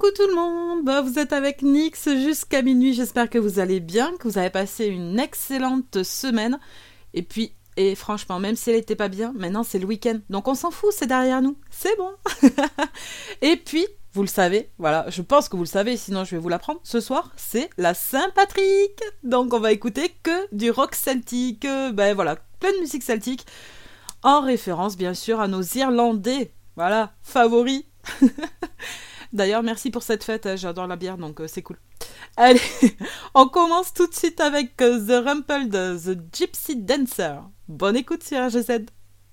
Coucou tout le monde, vous êtes avec Nyx jusqu'à minuit, j'espère que vous allez bien, que vous avez passé une excellente semaine. Et franchement, même si elle n'était pas bien, maintenant c'est le week-end, donc on s'en fout, c'est derrière nous, c'est bon. Et puis, vous le savez, voilà, je pense que vous le savez, sinon je vais vous l'apprendre, ce soir c'est la Saint-Patrick, donc on va écouter que du rock celtique, voilà, plein de musique celtique, en référence bien sûr à nos Irlandais, voilà, favoris. D'ailleurs, merci pour cette fête, j'adore la bière, donc c'est cool. Allez, on commence tout de suite avec The Rumpled, The Gypsy Dancer. Bonne écoute sur RGZ.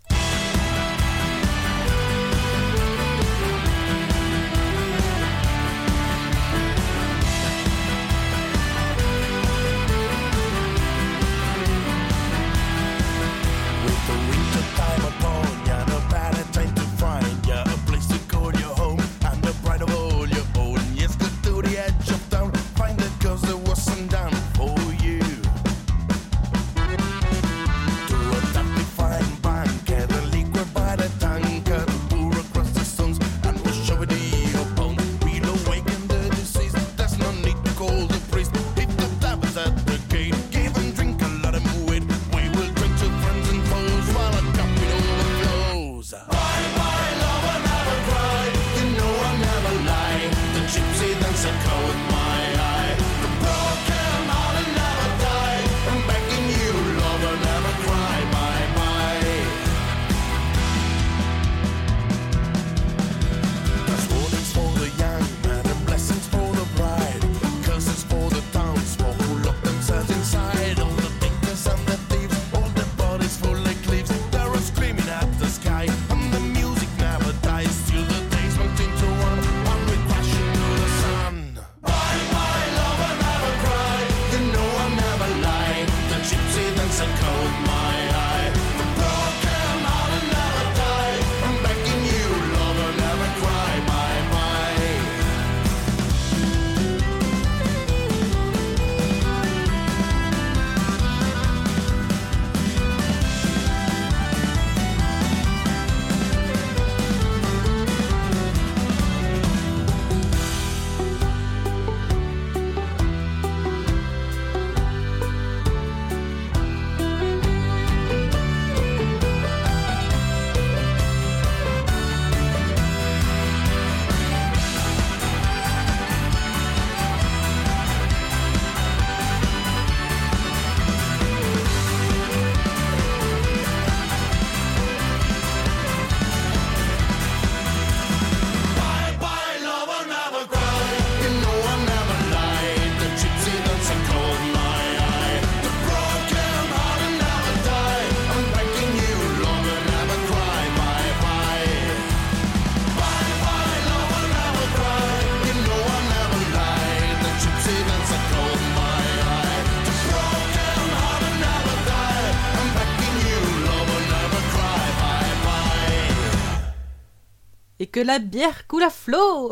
Que la bière coule à flot.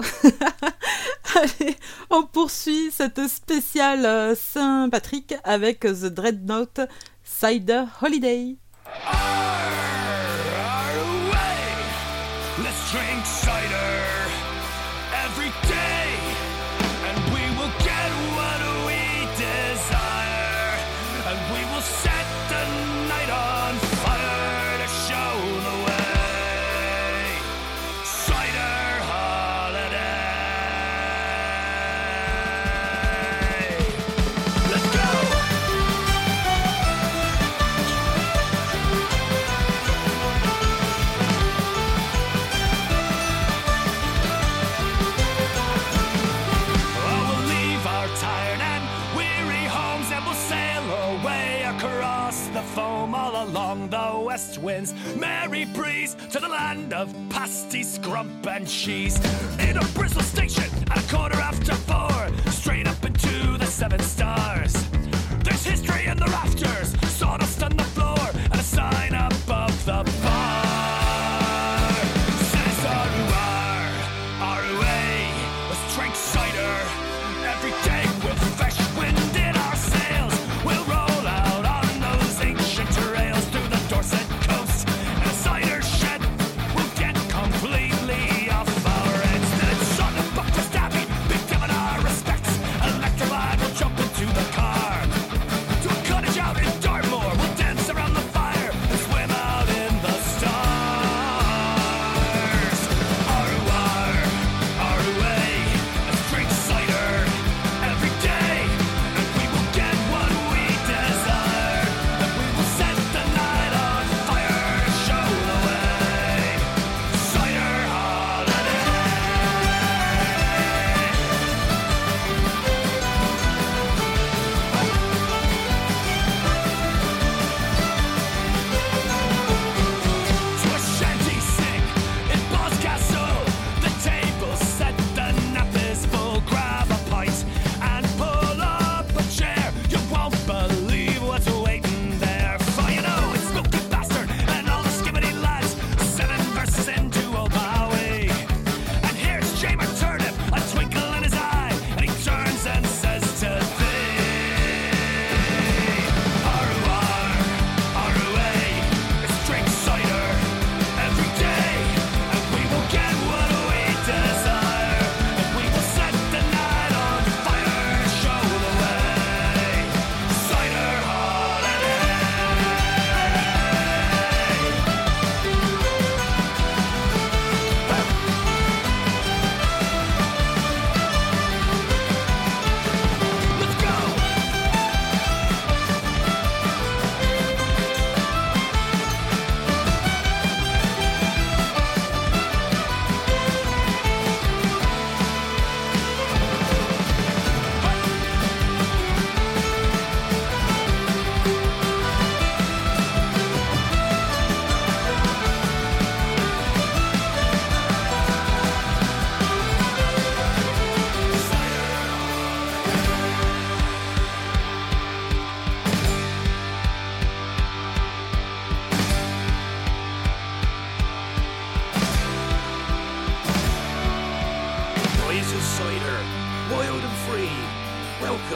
Allez, on poursuit cette spéciale Saint-Patrick avec The Dreadnought Cider Holiday. Let's drink cider every day, and we will get what we desire, and we will set the night on fire to show the way. Cider holiday. Let's go. Foam all along the west wind's merry breeze to the land of pasty, scrump and cheese. In a Bristol station at a quarter after 4, straight up into the 7 stars. There's history in the rafters, sawdust on the floor, and a sign above the bar. Says R-U-R-R-U-A, let's drink cider every day with fresh wind in our sails. We'll roll out on those ancient trails through the Dorset coast, and a cider shed will get completely off our heads. Then it's on the buck to stabby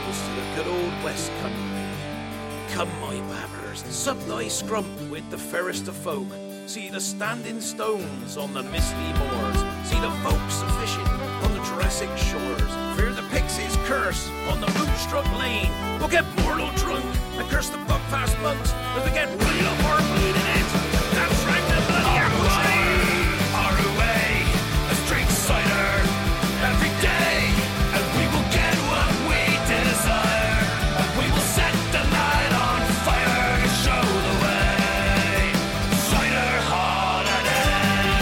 travels to the good old West Country. Come, my babbers, sup thy scrump with the fairest of folk. See the standing stones on the misty moors. See the folks a-fishing on the Jurassic shores. Fear the pixies' curse on the moonstruck lane. We'll get mortal drunk and curse the buck-fast monks as we get right up our bleeding heads and drag the bloody apple tree. Our way, let's drink cider every day, and we will get what we desire. And we will set the night on fire to show the way. Cider holiday.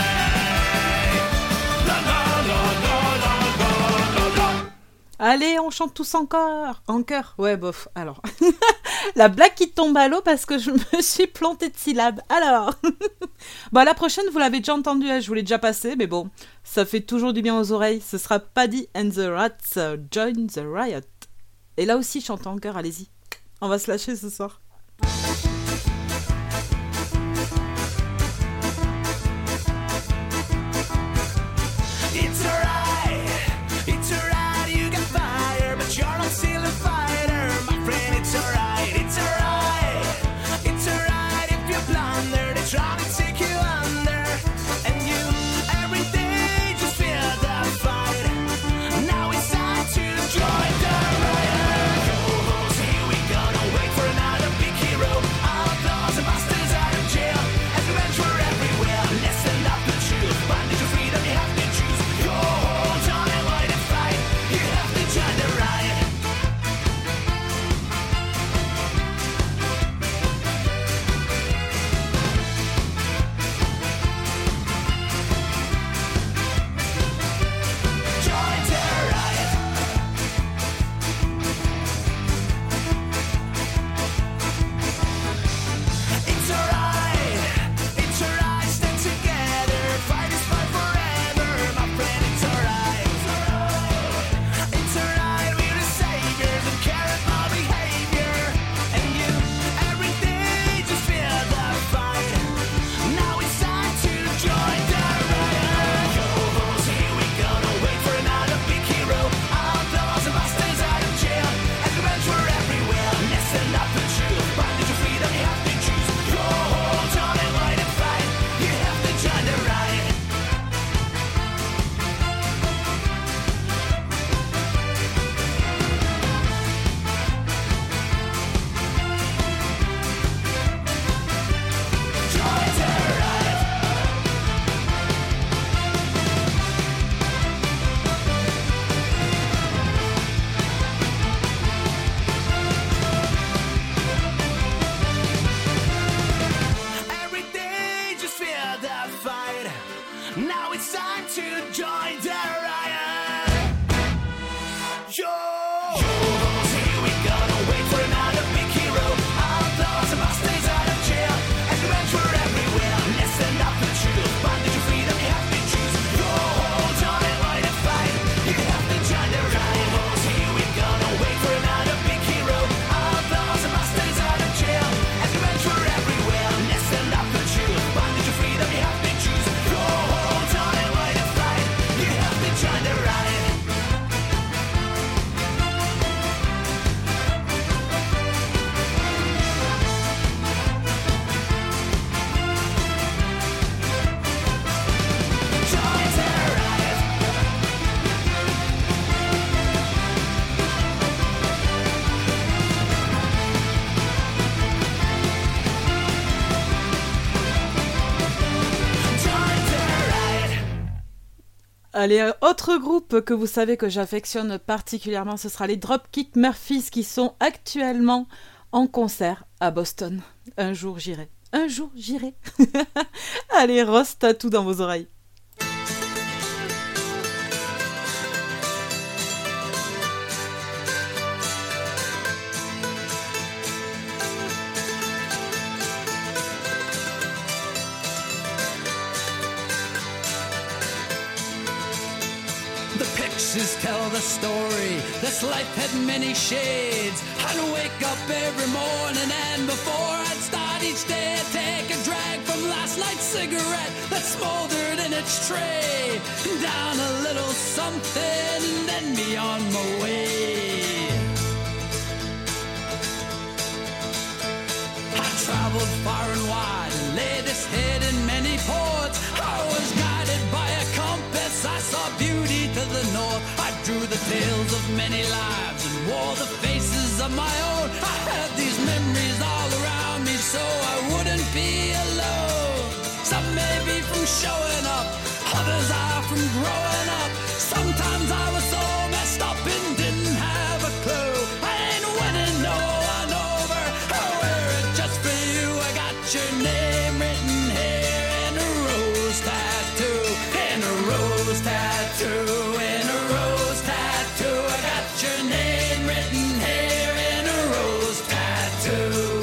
La la la la la la la. Allez, on chante tous encore. En chœur. Ouais, bof. Alors, la blague qui tombe à l'eau parce que je me suis plantée de syllabes. Alors, bon, la prochaine, vous l'avez déjà entendue, je vous l'ai déjà passée, mais bon, ça fait toujours du bien aux oreilles. Ce sera Paddy and the Rats, Join the Riot. Et là aussi, chante en chœur, allez-y. On va se lâcher ce soir. It's alright, you got fire, but you're not still a fighter, my friend. It's alright, if you blunder, they try to take you under, and you every day just feel the fight. Now it's time to join the riot. Yo-hos, here we go, don't wait for another big hero. Outlaws and bastards out of jail, as we venture everywhere. Listen up the truth, bondage to freedom, you have to choose. Your whole time and why to fight, you have to join the riot. Join the riot. It's alright, stand together, fight is fight forever, my friend. It's alright, we're the saviors of care about behavior, and you every day just feel the fight. Now it's time to join the riot. Yo-hos, here we go, don't wait for another big hero. Outlaws and bastards out of jail, as we venture everywhere. Listen up the truth, bondage to freedom, you have to choose. Your whole time and why to fight, you have to join the riot. Join the riot. Every day just feel the fight. Now it's time to join the riot. Yo-hos, here we go, don't wait for another big hero. Outlaws and bastards out of jail, as we venture everywhere. Listen up the truth, bondage to freedom, you have to choose. Your whole time and why to fight, you have to join the riot. Yo-hos, here we go, don't wait for another big hero. Outlaws and bastards out of jail, as we venture everywhere. Listen up the truth, bondage to freedom, you have to choose. Your whole time and why to fight, you have to join the riot. Join the riot. Join the riot. Allez, autre groupe que vous savez que j'affectionne particulièrement, ce sera les Dropkick Murphys qui sont actuellement en concert à Boston. Un jour j'irai. Un jour j'irai. Allez, Ross Tattoo dans vos oreilles. The pictures tell the story. This life had many shades. I'd wake up every morning and before I'd start each day, I'd take a drag from last night's cigarette that smoldered in its tray. Down a little something and then be on my way. traveled far and wide and laid his head in many ports. I was guided by a compass, I saw beauty to the north. I drew the tales of many lives and wore the faces of my own. I had these memories all around me so I wouldn't be alone. Some may be from showing up, others are from growing up. Sometimes I was so messed up and didn't have a clue. I ain't winning no one over, I wear it just for you. I got your name written here in a rose tattoo. In a rose tattoo, in a rose tattoo. I got your name written here in a rose tattoo.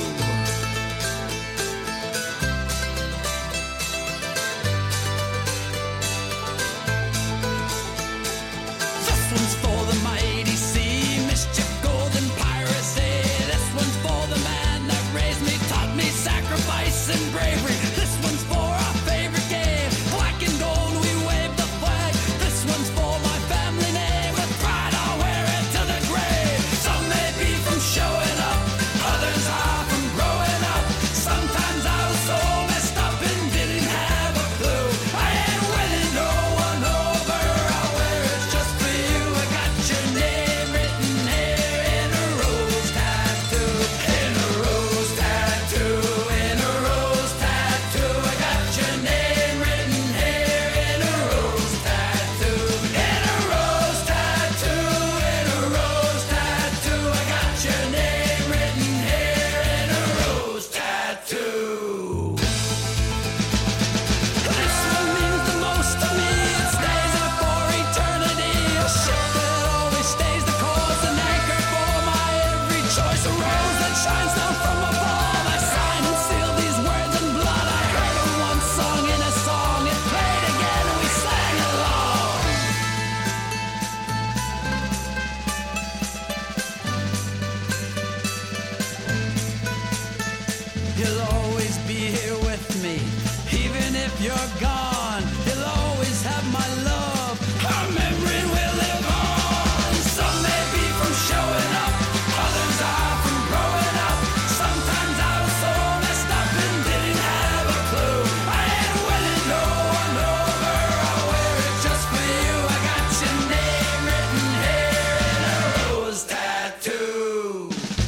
This one's for the mighty sea, mischief, golden piracy. This one's for the man that raised me, taught me sacrifice and bravery. This one's for our favorite game, black and gold, we wave the flag. This one's for my family name, with pride I'll wear it to the grave. Some may be from showing up, others are from growing up. Sometimes I was so messed up and didn't have a clue. I ain't winning no one over, I'll wear it just for you. I got your name written here in a rose tattoo. In a rose tattoo, in a rose tattoo. I got your name written here in a rose tattoo. In a rose tattoo, in a rose tattoo. I got your name written here in a rose tattoo. This one means the most to me. It stays there for eternity. A ship that always stays the course, an anchor for my every choice. A rose that shines down from above. I signed and sealed these words in blood. I heard them once sung in a song. It played again and we sang along. You'll always be here with me, even if you're gone. You'll always have my love. Our memory will live on. Some may be from showing up, others are from growing up. Sometimes I was so messed up and didn't have a clue. I ain't winning no one over, I'll wear it just for you. I got your name written here in a rose tattoo.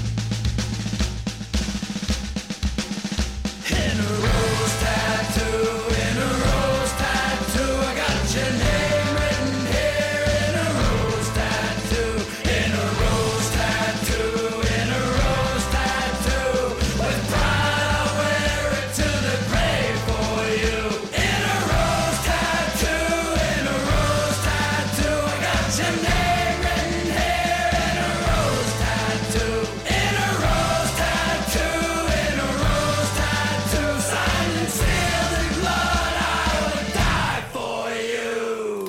In a rose tattoo, in a rose tattoo. I got your name written here in a rose tattoo. In a rose tattoo, in a rose tattoo. With pride I'll wear it to the grave for you. In a rose tattoo, in a rose tattoo. I got your name written here in a rose tattoo. In a rose tattoo, in a rose tattoo. Signed and sealed in blood, I would die for you.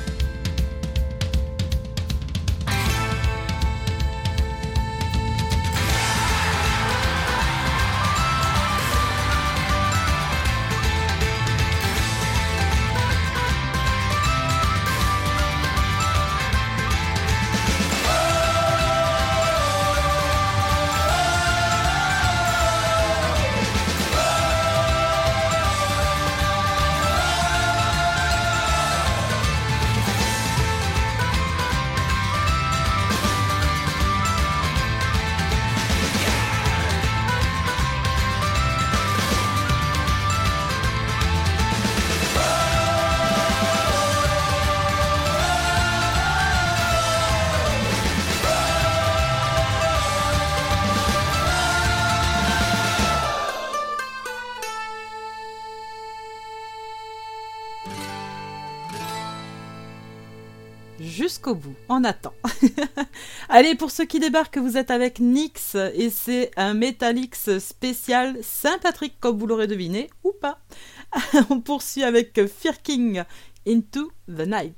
Jusqu'au bout, on attend. Allez, pour ceux qui débarquent, vous êtes avec Nyx et c'est un Metallics spécial Saint-Patrick, comme vous l'aurez deviné, ou pas. On poursuit avec Fear King, Into the Night.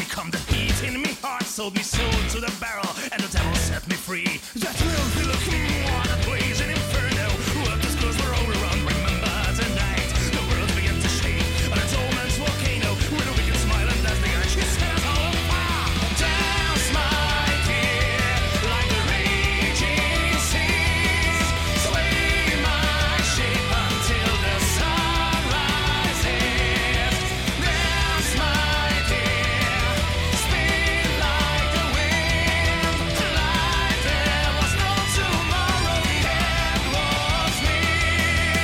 come the heat in me heart, sold me soul to the barrel, and the devil set me free. That will be looking what a blazing inferno. What the schools were all around, remember tonight. The world began to shake on its old man's volcano, with a wicked smile and as the ashes set all afire. Dance, my dear, like the raging seas. Sway my ship until the sun rises. Dance, my dear, spin like the wind. Like there was no tomorrow, the end was near.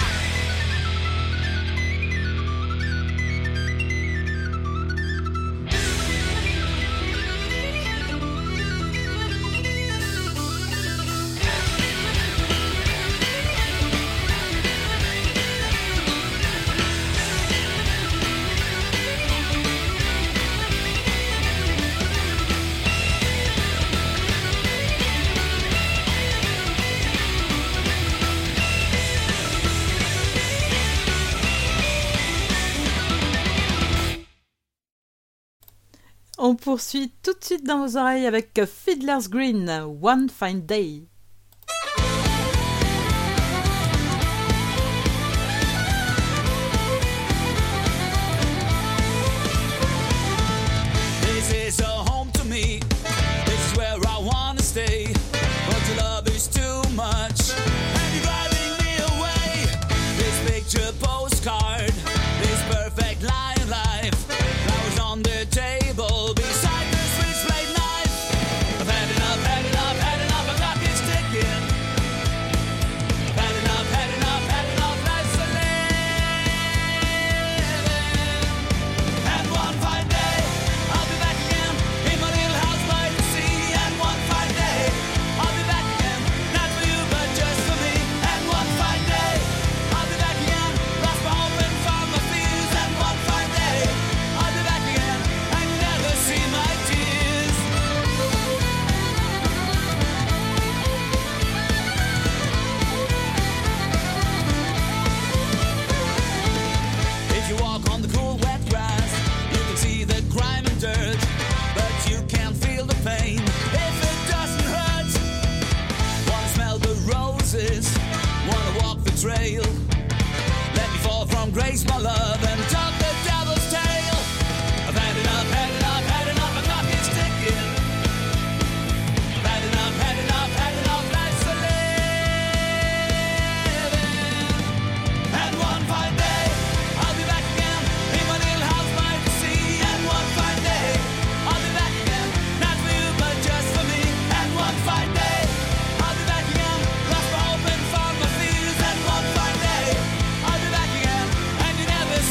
On poursuit tout de suite dans vos oreilles avec Fiddler's Green, One Fine Day. This is a home to me. This is where I wanna stay. But your love is too much, and you're driving me away. This picture postcard, this perfect line life. Flowers on the table beside the switchblade knife. I've had enough, had enough, had enough. The clock is ticking. Had enough, had enough, had enough. Life's a living. And one fine day, I'll be back again in my little house by the sea. And one fine day, I'll be back again, not for you but just for me. And one fine day, I'll be back again, lost my hope and found my fears. And one fine day, I'll be back again, and you never see my tears. If you walk on the cool wet grass, you can see the grime and dirt, but you can't feel the pain if it doesn't hurt. Wanna smell the roses, wanna walk the trail. Let me fall from grace, my love, and talk the devil's tale. I've had enough, had enough, had enough. The clock is ticking. Had enough, had enough, had enough. Life's a living. And one fine day, I'll be back again in my little house by the sea. And one fine day, I'll be back again, not for you but just for me. And one fine day, I'll be back again, lost my hope and found my fears. And one fine day, I'll be back again, and you never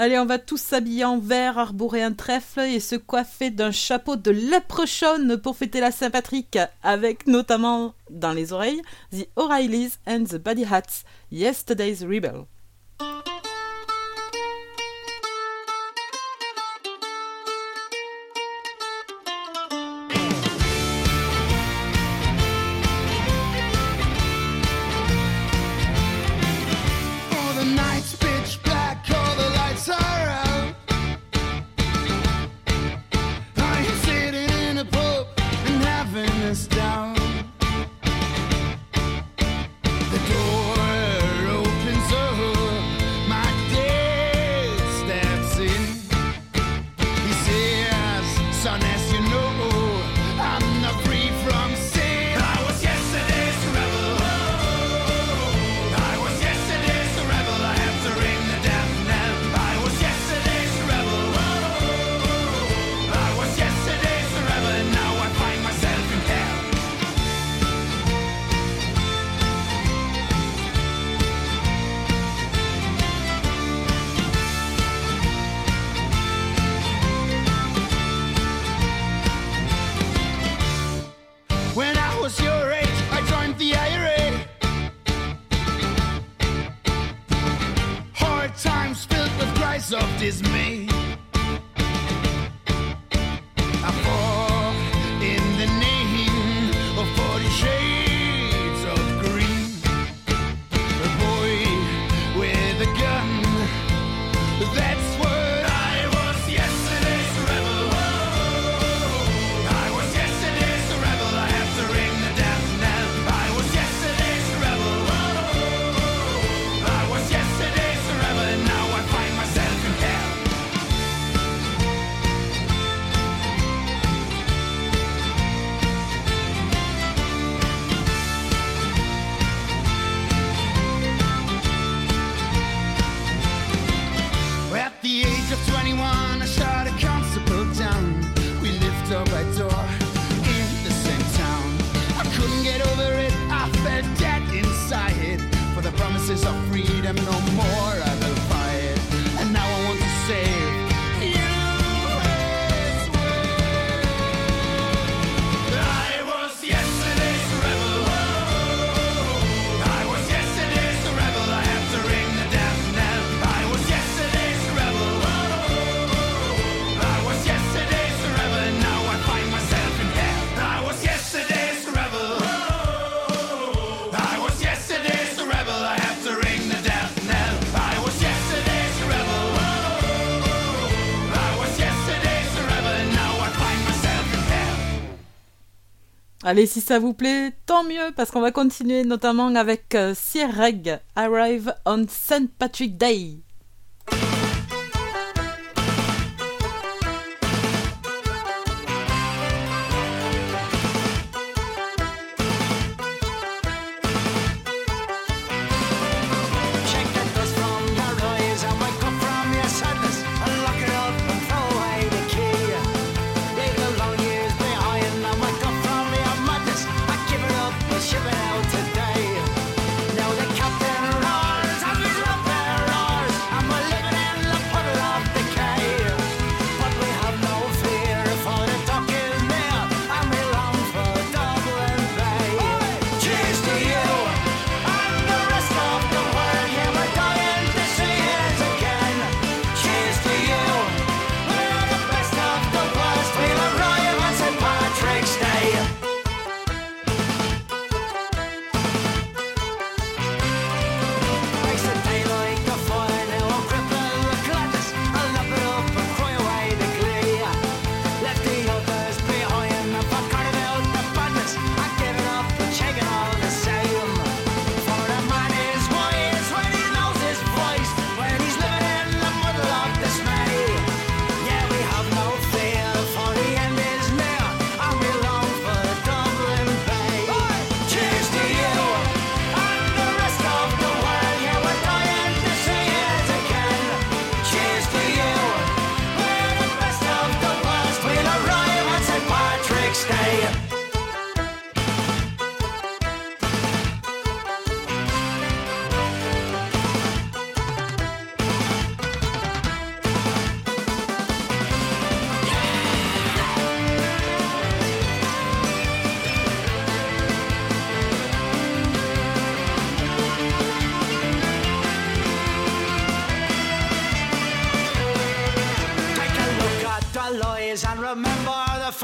Allez, on va tous s'habiller en vert, arborer un trèfle et se coiffer d'un chapeau de leprechaun pour fêter la Saint-Patrick, avec notamment dans les oreilles The O'Reillys and the Buddy Hats, Yesterday's Rebel. Of dismay, I fought in the name of 40 shades of green. A boy with a gun, that's what I was yesterday's rebel. I was yesterday's rebel, I have to ring the death knell. I was yesterday's rebel. I was yesterday's rebel, and now I find myself in hell. At the age of 21, I shot a constable down. We lived door by door in the same town. I couldn't get over it, I felt dead inside. For the promises of freedom, no more I will fight. And now I want to save you as well. I was yesterday's rebel. I was yesterday's rebel, I have to ring the death knell. I was yesterday's rebel. I was yesterday's rebel, and now I find myself in hell. I was yesterday's rebel. I was yesterday's rebel, I have to ring the death knell. I was yesterday's rebel. I was yesterday's rebel, and now I find myself in hell. Allez, si ça vous plaît, tant mieux, parce qu'on va continuer notamment avec Sierreg, Arrive on St. Patrick Day. Shake the dust from your eyes and wake up from your sadness and lock it up and throw away the key. Leave the long years behind and wake up from your madness and give it up and ship it out today. Now the captain roars and we love their roars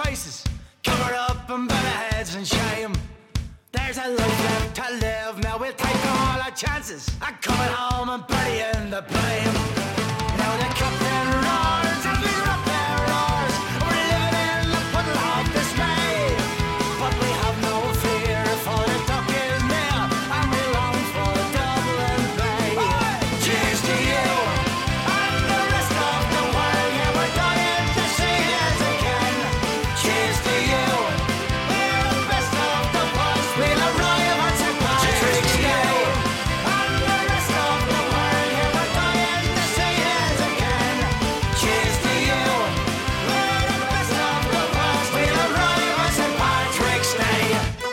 faces, covered up and by their heads in shame. There's a life left to live, now we'll take all our chances and coming home and burying the blame. Now the captain roars and we rock their roars, we're living in the puddle of dismay. But we have no fear, for the dock is near, and we long for Dublin Bay. Cheers to you and the rest of the world, yeah, we're dying to see it again. Cheers to you, we're the best of the world, we'll arrive at St. Patrick's Day. And the rest of the world, yeah, we're dying to see it again. Cheers to you, we're the best of the world, we'll arrive at St. Patrick's Day.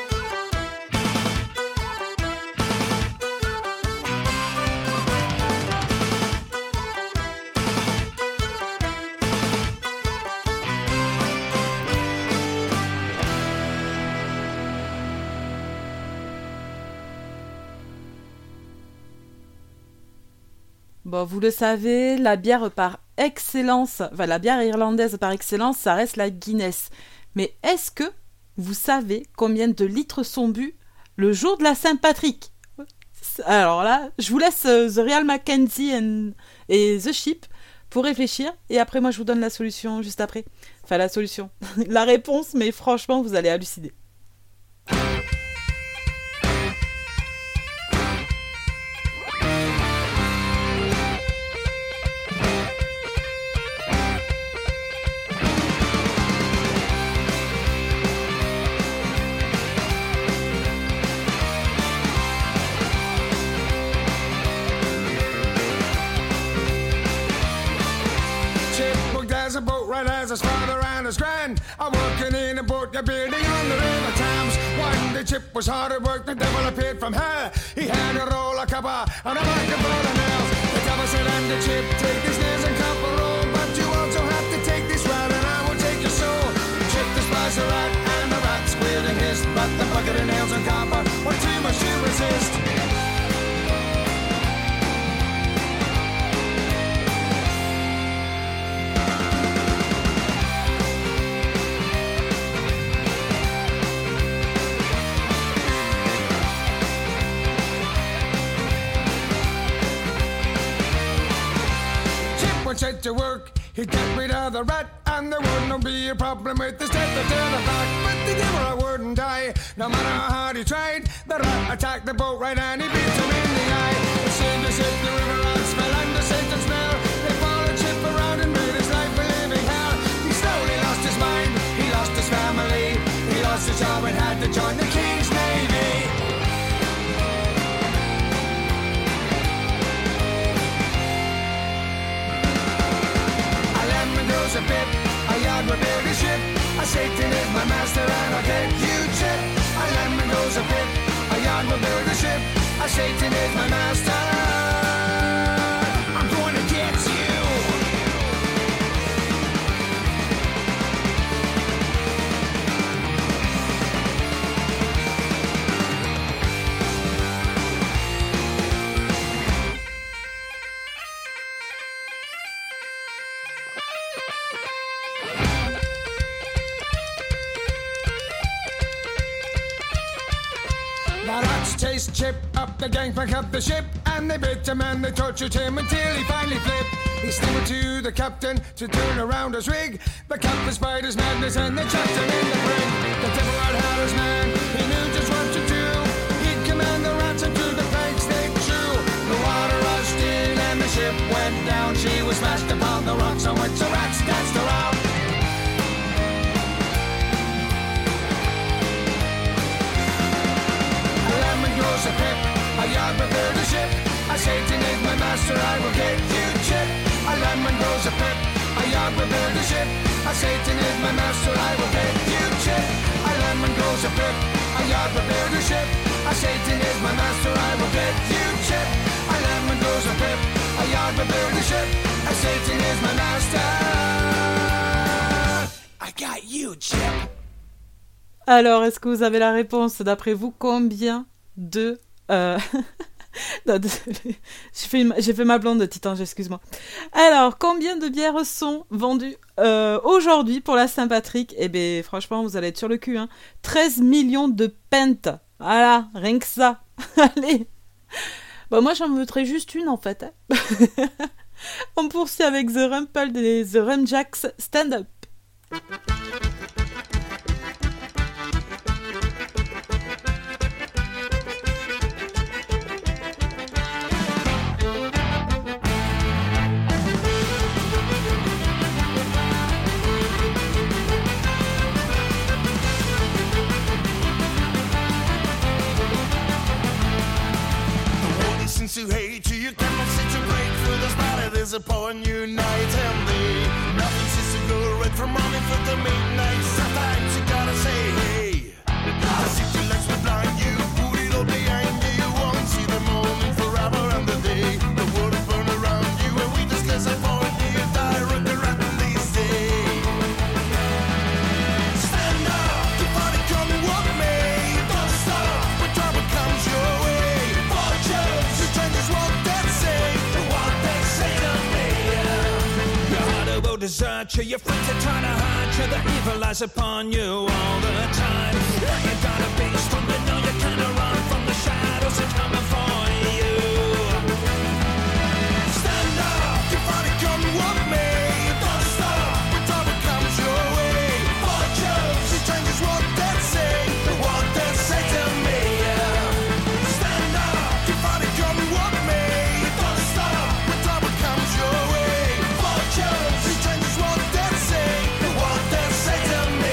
Bon, vous le savez, la bière par excellence, enfin la bière irlandaise par excellence, ça reste la Guinness. Mais est-ce que vous savez combien de litres sont bu le jour de la Saint-Patrick? Alors là, je vous laisse The Real Mackenzie et The Sheep pour réfléchir. Et après, moi, je vous donne la solution juste après. Enfin, la solution. La réponse, mais franchement, vous allez halluciner. Chip worked as a boat right as his father and his grand. I'm working in a boat, you're building on the river Thames. One day Chip was hard at work, the devil appeared from hell. He had a roll of copper and a bucket full of nails. The devil said unto Chip, take these nails and copper roll, but you also have to take this rod and I will take your soul. Chip despised the rat and the rat squealed and hissed, but the bucket of nails and copper were too much to resist. Chip went set to work, he'd get rid of the rat, and there wouldn't be a problem with the step to the back. But the devil wouldn't die, no matter how hard he tried. The rat attacked the boat right and he beat him in the eye. It seemed as if the river rats fell under Satan's spell. They followed Chip around and made his life a living hell. He slowly lost his mind, he lost his family, he lost his job and had to join the King's Navy. Goes a bit, a yard will build a ship. A Satan is my master and I'll get you Chip. A lemon goes a bit, a yard will build a ship. A Satan is my master. I'm going to get you. The rats chased Chip up the gangplank of the ship, and they bit him and they tortured him until he finally flipped. He stumbled to the captain to turn around his rig. The captain spied his madness and they chucked him in the brig. The devil had his man, he knew just what to do. He'd command the rats into the planks they chew. The water rushed in and the ship went down. She was smashed upon the rocks on which the rats danced around. Grows a pip, a yard will build a ship. A Satan is my master, I will get you Chip. A lemon grows a pip, a yard will build a ship. A Satan is my master, I will get you Chip. A lemon grows a pip, a yard will build a ship. A Satan is my master, I will get you Chip. A lemon grows a pip, a yard will build a ship. A Satan is my master. I got you Chip. Alors, est-ce que vous avez la réponse? D'après vous, combien de Non, désolé. J'ai fait ma blonde de Titan, excuse-moi. Alors, combien de bières sont vendues aujourd'hui pour la Saint-Patrick? Eh bien, franchement, vous allez être sur le cul. 13 millions de pintes. Voilà, rien que ça. Allez. Bah, moi, j'en voudrais juste une, en fait. On poursuit avec The Rumple des The Rumjacks Stand Up. To hate you, you cannot sit to break for the spot it is upon you night and day. Nothing seems to go right from morning for the midnight. Sometimes you gotta say, hey, the city lights will blind you, put it all behind you. You won't see the morning forever and the day. The world will burn around you, and we just can't avoid you. Die right around these days. Stand up, keep on it, come with me. Don't stop when trouble comes your way. Desert you, your friends are trying to hide you. The evil lies upon you all the time. You gotta be strong, but know you can't run from the shadows that come for you. Stand up, you finally come with me. Don't stop when trouble comes your way. Fortunes, it changes what they say, what they say to me. Stand up, you finally come with me. Don't stop when trouble comes your way. Fortunes, it changes what they say to me.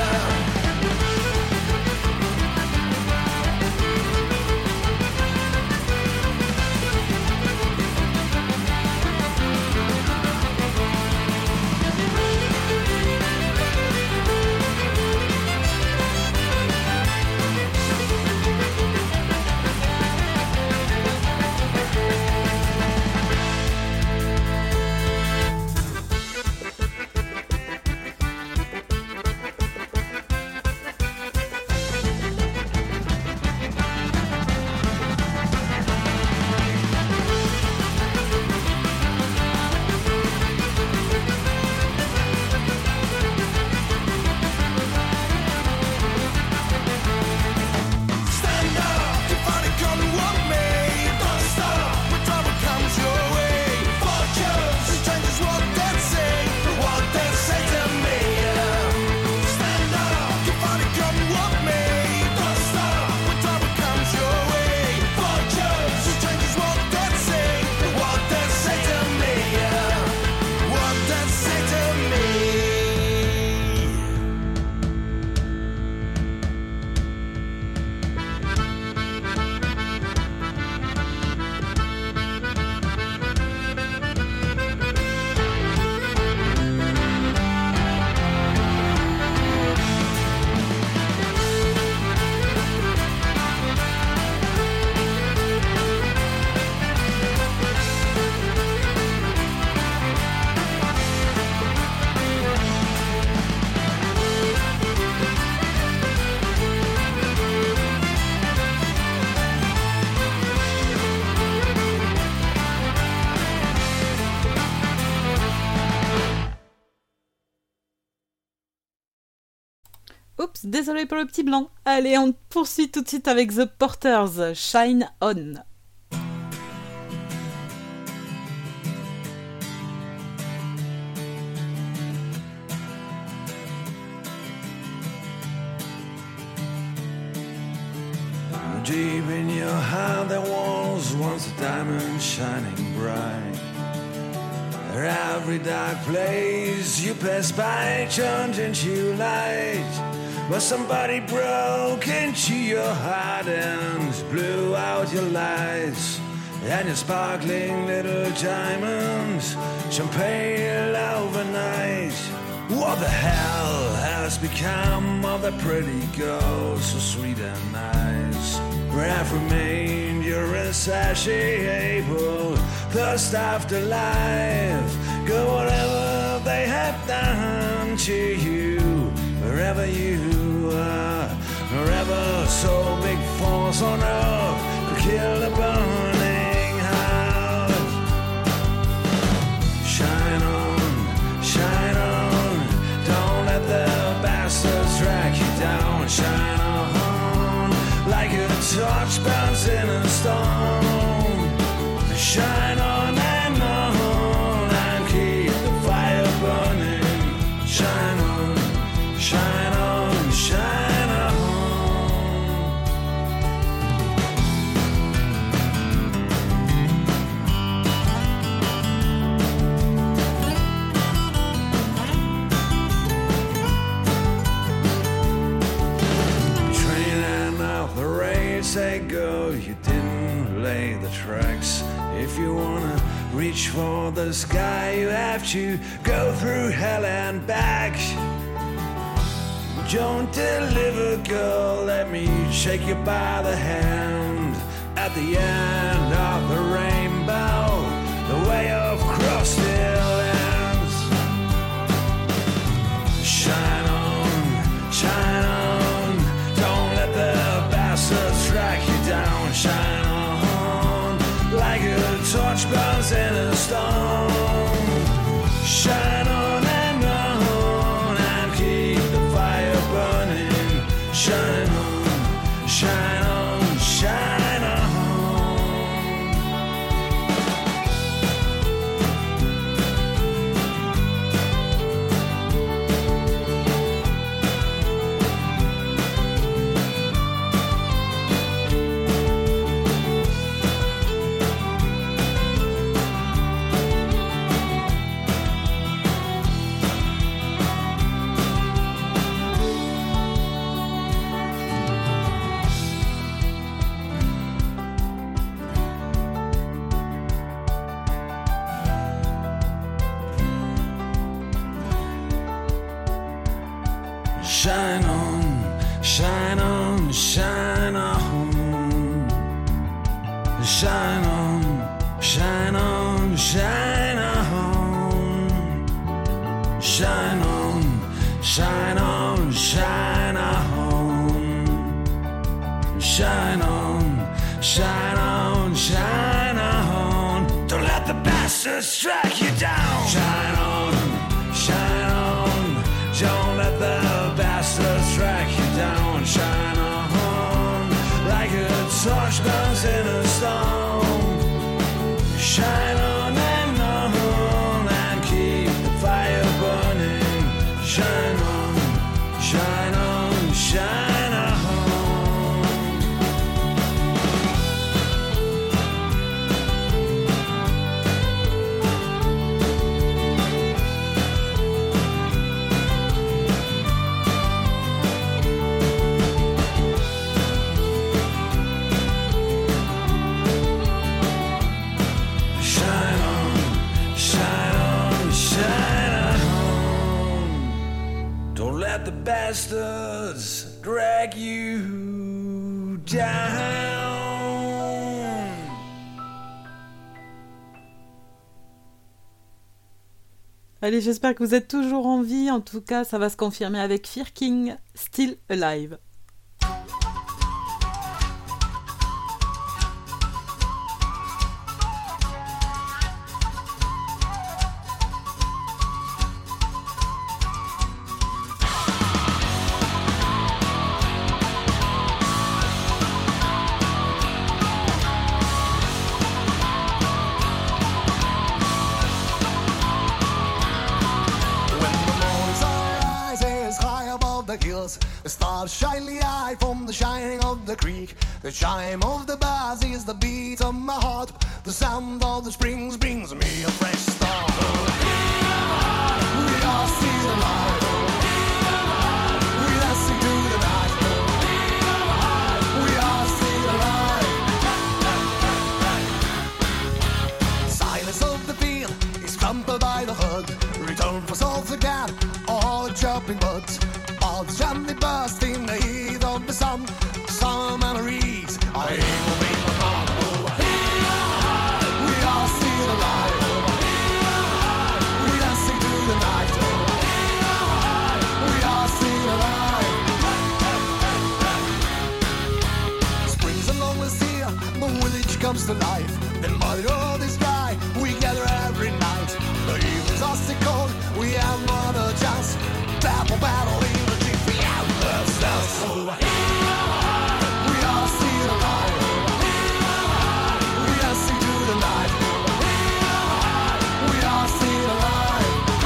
Oups, désolé pour le petit blanc. Allez, on poursuit tout de suite avec The Porters, Shine On. Deep in your heart there was once a diamond shining bright. Every dark place you pass by turned into light. But somebody broke into your heart and blew out your lights. And your sparkling little diamonds shone pale overnight. What the hell has become of the pretty girl so sweet and nice? Where have remained your insatiable thirst after life? Go whatever they have done to you, wherever you are, wherever so big force on earth could kill the burning house. Shine on, don't let the bastards drag you down. Shine on, like a torch burns in a storm. Shine on and keep the fire burning. Shine on, shine on, shine on. Training out the race, they go, you didn't lay the tracks. If you wanna reach for the sky, you have to go through hell and back. Don't deliver, girl, let me shake you by the hand. At the end of the rainbow, the way of cross still ends. Shine on, don't let the bastards track you down. Shine on, like a torch burns in a storm. Shine on and keep the fire burning. Shine on, shine on, shine on. Shine on, shine on, shine on. Shine on, shine on, shine on. Shine on, shine on, shine on. Shine on, shine on, shine on. Don't let the bastards strike you down. Shine on, shine on. Don't let the bastards track you down. Shine on, like a torch burns in a storm. Shine on and keep the fire burning. Shine on, shine on, shine on. Let the bastards drag you down. Allez, j'espère que vous êtes toujours en vie. En tout cas, ça va se confirmer avec Fear King, Still Alive. The stars shyly eye from the shining of the creek. The chime of the bells is the beat of my heart. The sound of the springs brings me a fresh start. We are still alive. We dancing to the night. We are still alive. Silence of the field is crumpled by the hood. Return for souls again, all chopping buds. All the gently burst in the heat of the sun. Some memories I will be forgotten. We are still alive. We dancing to the night. comes to life. In mud or the sky, we gather every night. The evenings are still cold, we have another chance. Battle, battle, in the deep, we have ourselves. We are still alive. We are sing to the night. We are still alive.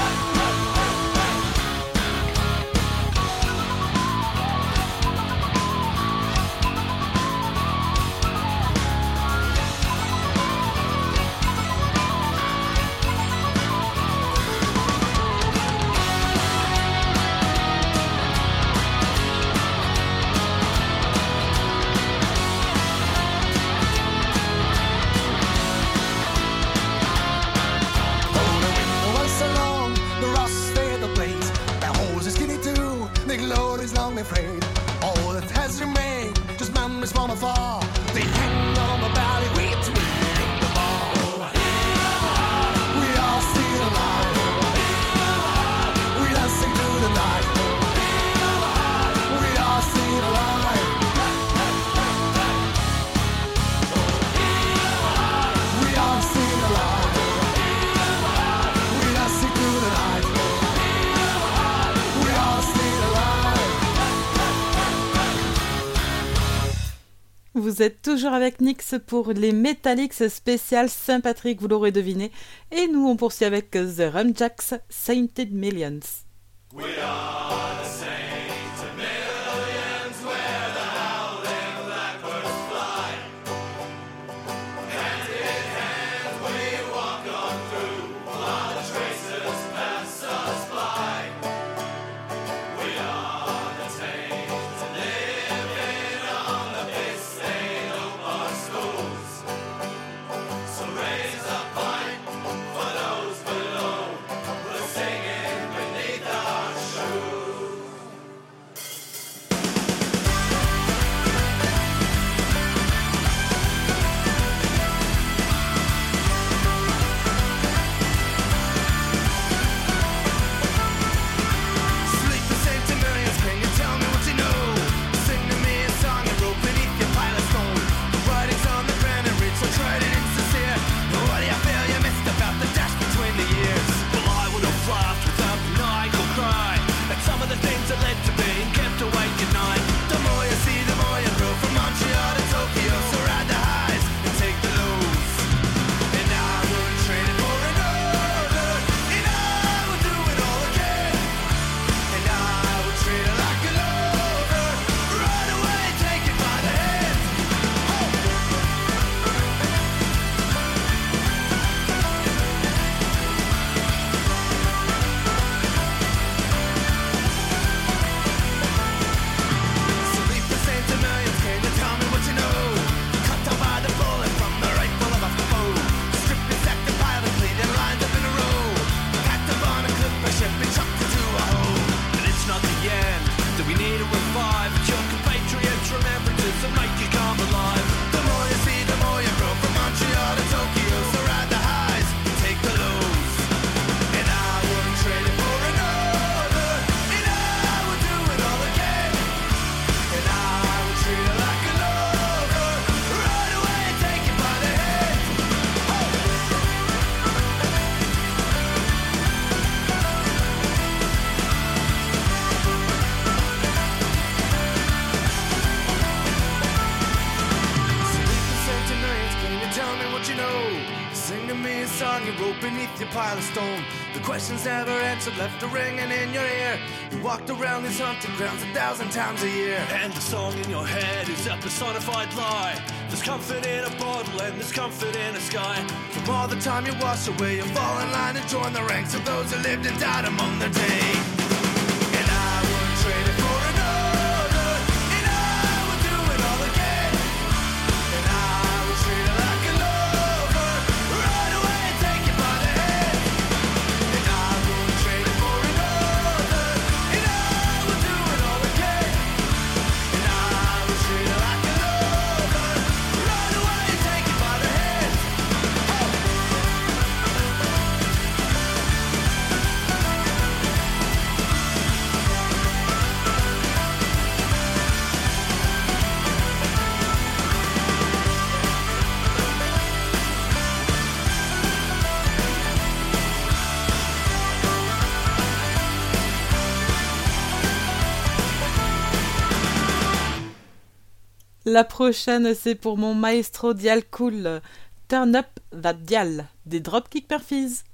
Afraid. All that has remained, just memories from afar. They hang on my belly, we twin the ball. We are still alive. We dancing through the night. We are still alive. We are still alive. We dancing through the night. We are still alive. Vous êtes toujours avec Nyx pour les Metallics spécial Saint-Patrick, vous l'aurez deviné. Et nous, on poursuit avec The Rumjacks, Sainted Millions. We are the saints of millions, where the howling blackbirds fly. Hand in hand we walk on through, while the tracers pass us by. We are the saints living on the piss they hope our schools. So raise a pint for those below, we're singing beneath our shoes. Sleep the same to millions, can you tell me what you know? Sing to me a song and rope beneath your pile of stone. The writing's on the ground and read so tried and insincere. What do you feel you missed about the dash between the years? Well, I would have laughed without maniacal cry at some of the things that led to being kept awake at night. The more you see, the more you grow, from Montreal to Tokyo. So ride the highs and take the lows. And I would trade it for another, and I would do it all again. And I would treat her like a lover, run away, take it by the hand. So leave the saints of millions, can you tell me what you know? Cut down by the bullet from the rifle of a foe. Stripped and stacked and piled and cleaned and lined up in a row. Packed up on a clipper ship and chucked into a hole. But it's not the end that we need to revive. It's your compatriots' remembrances that make you come alive. The more you see, the more you grow, from Montreal to Tokyo. So ride the highs and take the lows. And I wouldn't trade it for another, and I would do it all again. And I would treat her like a lover, run away and take it by the hand. So leave the saints and millions, can you tell me what you know? Sing to me a song you wrote beneath your pile of stone. The questions never answered, left a ringing in your ear. You walked around these haunted grounds 1,000 times a year. And the song in your head is a personified lie. There's comfort in a bottle and there's comfort in a sky. From all the time you wash away, you fall in line and join the ranks of those who lived and died among their day. And I would trade it for another, and I would do it all again. And I would treat her like a lover, run away and take it by the hand. And I would trade it for another, and I would do it all again. And I would treat her like a lover, run away and take it by the hand. La prochaine, c'est pour mon maestro Dial Cool. Turn Up That Dial, des Dropkick Murphys.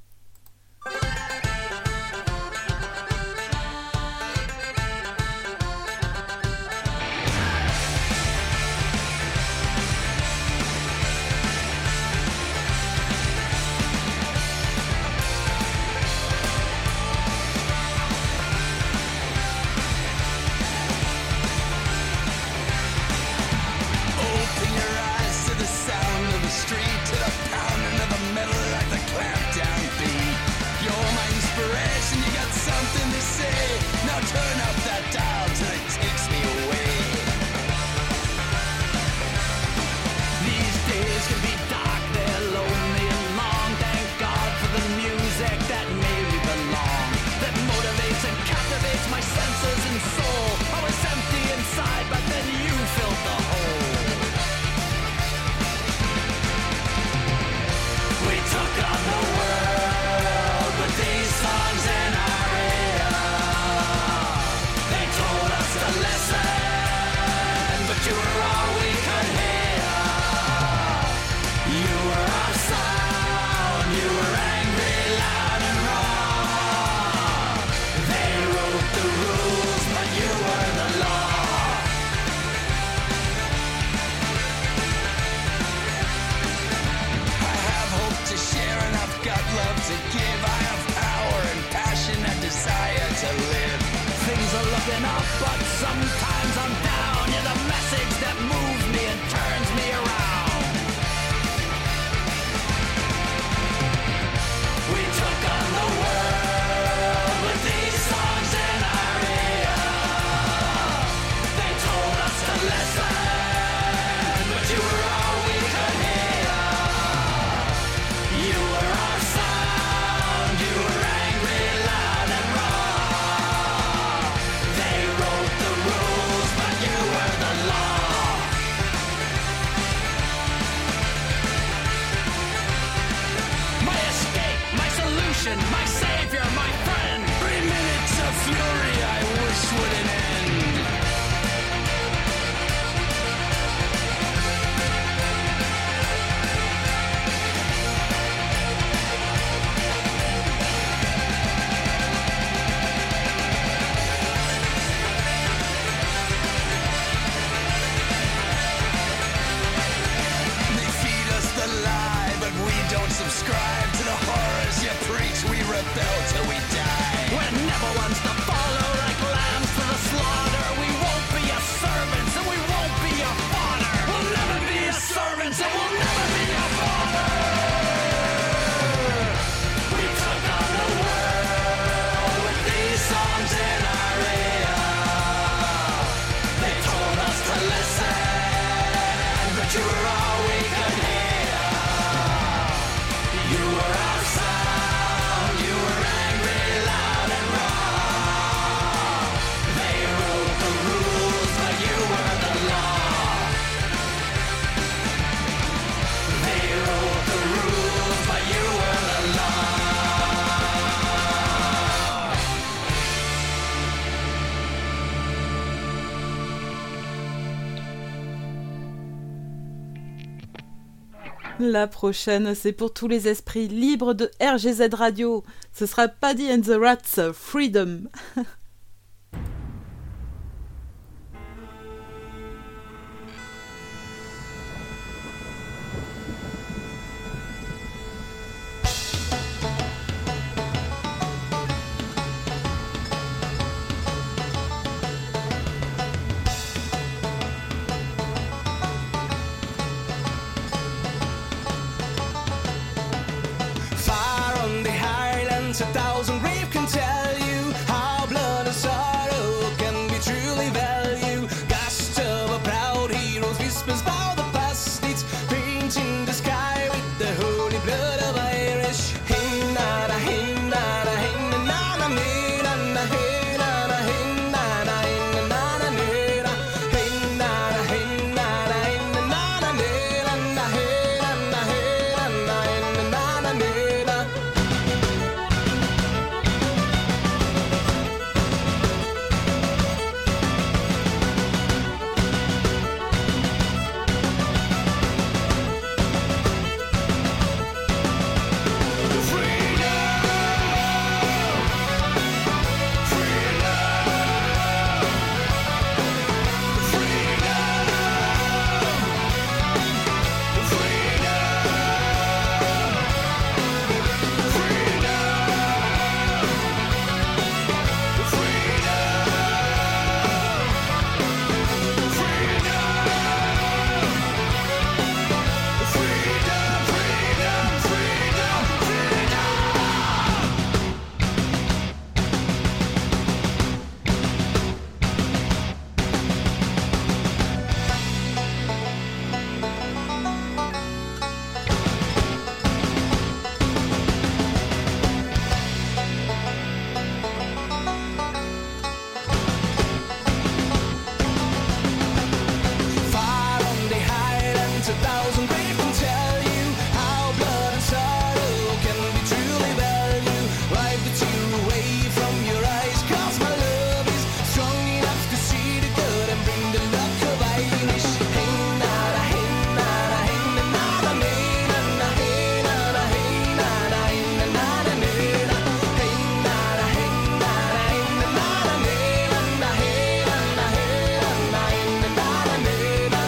La prochaine, c'est pour tous les esprits libres de RGZ Radio. Ce sera Paddy and the Rats, Freedom. A thousand grave can tell you how blood and sorrow can be truly value. Ghost of a proud hero's whispers bow the past. It's painting the sky with the holy blood of Irish. Hey nada, hey nada, hey nada, hey nada, hey nada, hey nada, hey nada, hey nada, hey nada, hey nada, hey nada, hey nada, hey nada, hey nada, hey nada. 1,000 people tell you how blood and sorrow can be truly valued. Wipe the tear away from your eyes, 'cause my love is strong enough to see the good and bring the luck of Irish. Hey nada, hey nada, hey nada, hey nada, hey nada, hey nada, hey nada, hey nada, hey nada, hey nada, hey nada, hey nada, hey nada, hey nada, hey nada.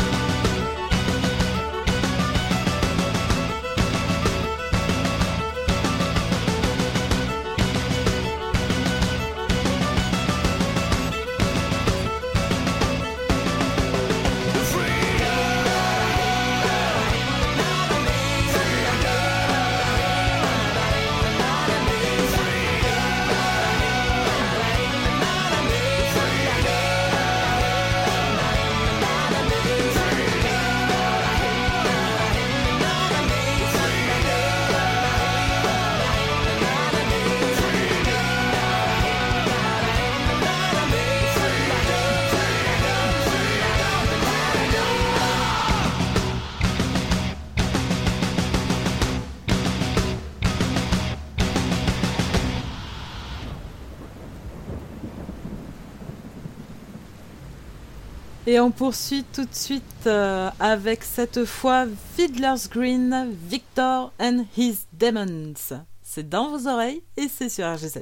Et on poursuit tout de suite avec cette fois Fiddler's Green, Victor and His Demons. C'est dans vos oreilles et c'est sur RGZ.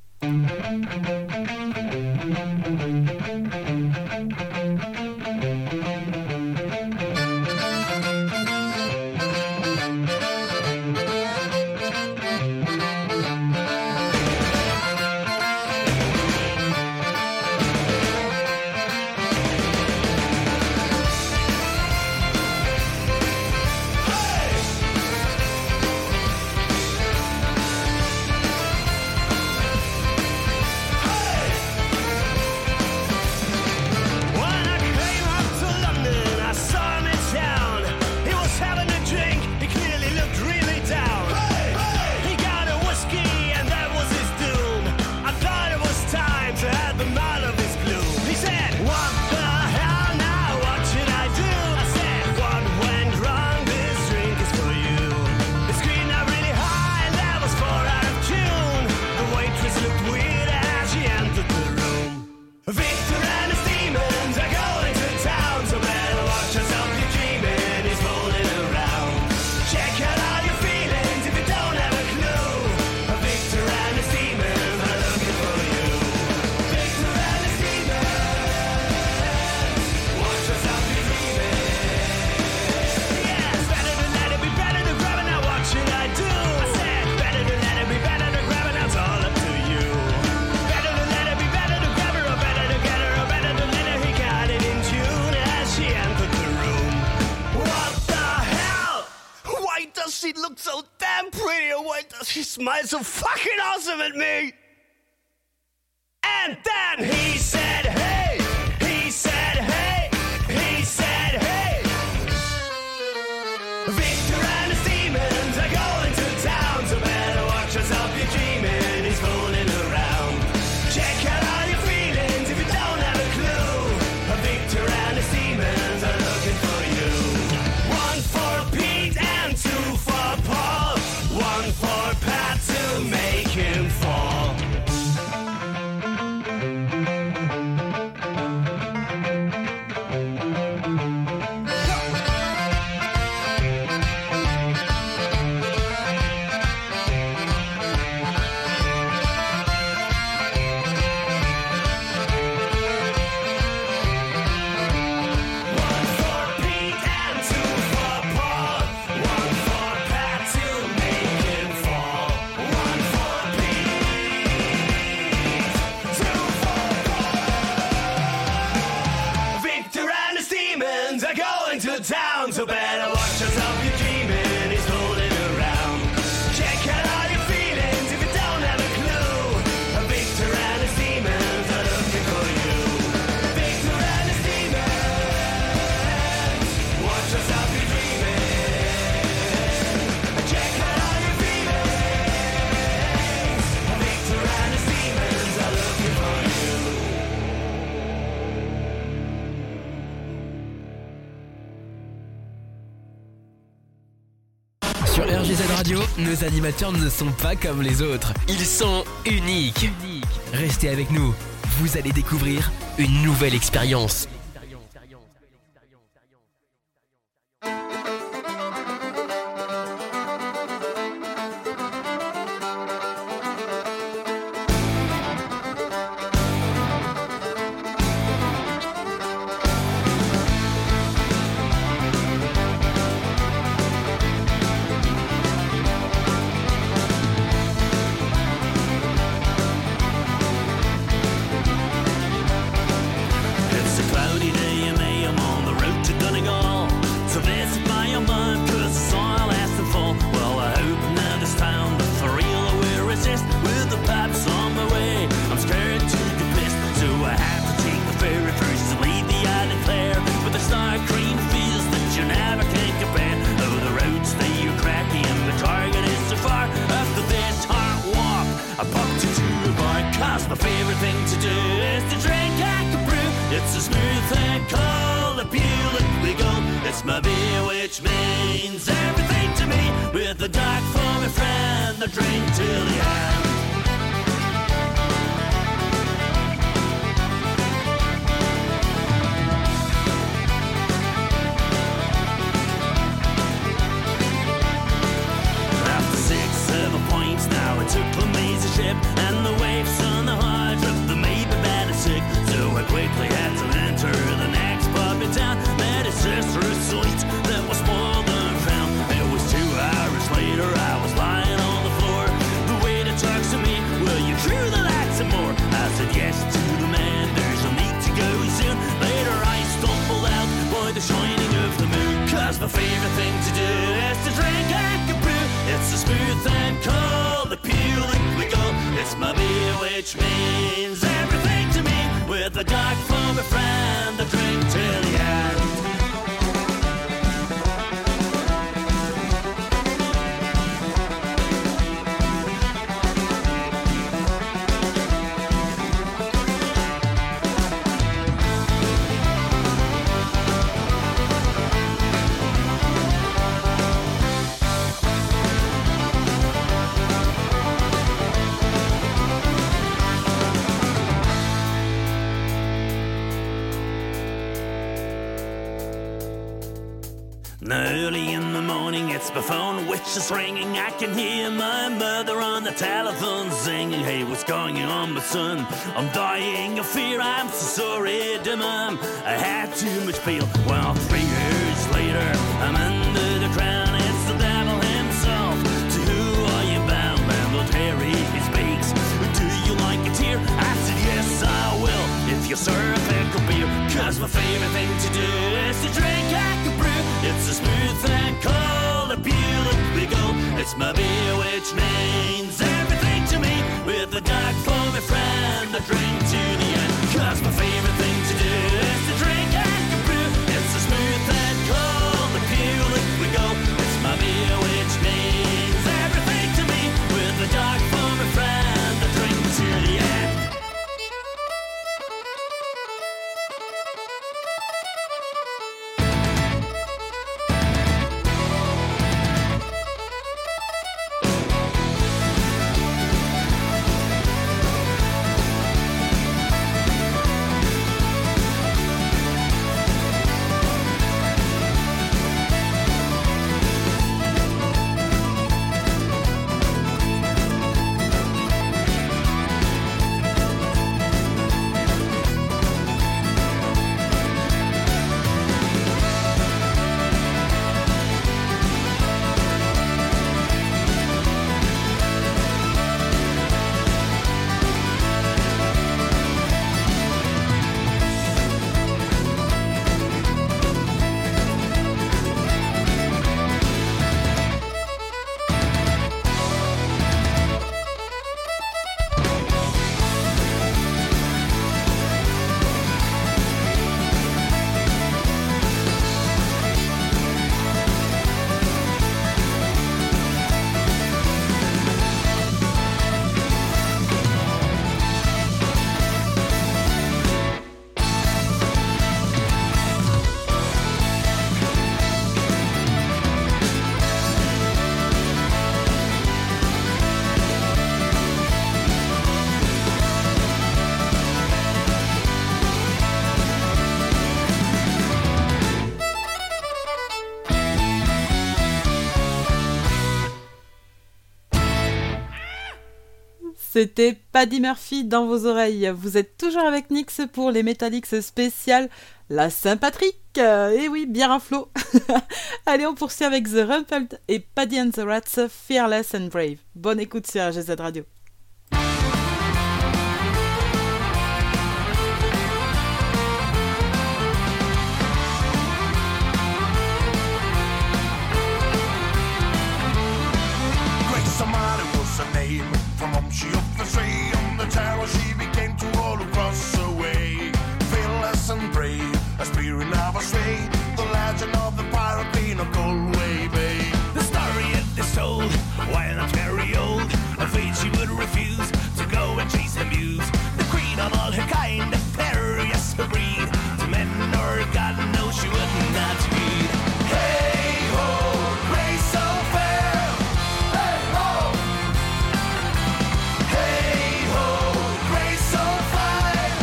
She looks so damn pretty, and why does she smile so fucking awesome at me? And then he said, hey, he said, hey, he said, hey. Victor and his demons are going to town, so better watch yourself, you're dreaming, he's fooling around. Check out all your feelings if you don't have a clue. Victor and his demons are looking for you. One for Pete and two for Paul, one for Pat to make him fall. Town, so better watch yourself, you're dreaming, he's fooling around. Check out all your feelings if you don't have a clue. Victor and his demons are looking for you. Victor and his demons, watch yourself, you're dreaming. Check out all your feelings. Victor and his demons are looking for you. Sur RGZ Radio, nos animateurs ne sont pas comme les autres. Ils sont uniques. Restez avec nous. Vous allez découvrir une nouvelle expérience. Early in the morning, it's my phone which is ringing. I can hear my mother on the telephone singing, "Hey, what's going on, my son? I'm dying of fear, I'm so sorry, dear mom. I had too much peel." Well, 3 years later, I'm under the crown. It's the devil himself. To who are you bound? Landlord Harry, he speaks. "Do you like a tear?" I said, "Yes, I will, if you serve pickle beer." 'Cause my favorite thing to do is to drink Hacker Brew. It's a smooth and cold, a Buick we go. It's my beer which means everything to me. With the dark for my friend, I drink to the end. 'Cause my favorite thing to do is to drink Hacker Brew. It's a smooth and cold, a Buick we go. It's my beer which means everything to me. With the dark for my friend, I drink to the end. C'était Paddy Murphy dans vos oreilles. Vous êtes toujours avec Nix pour les Metallics spéciales la Saint-Patrick. Et oui, bien un flot. Allez, on poursuit avec The Rumpled et Paddy and the Rats, Fearless and Brave. Bonne écoute sur RGZ Radio. Grace O'Malley was her name. From home she up the street. On the terror she became to all across the way. Fearless and brave, a spirit of a sway. The legend of the pirate queen of Galway Bay. The story it is told, while not very old, afraid she would refuse to go and chase the muse. The queen of all her kind, a furious breed. To men or God knows she would not heed. Hey ho, Grace so fair. Hey ho. Hey ho, Grace so fine.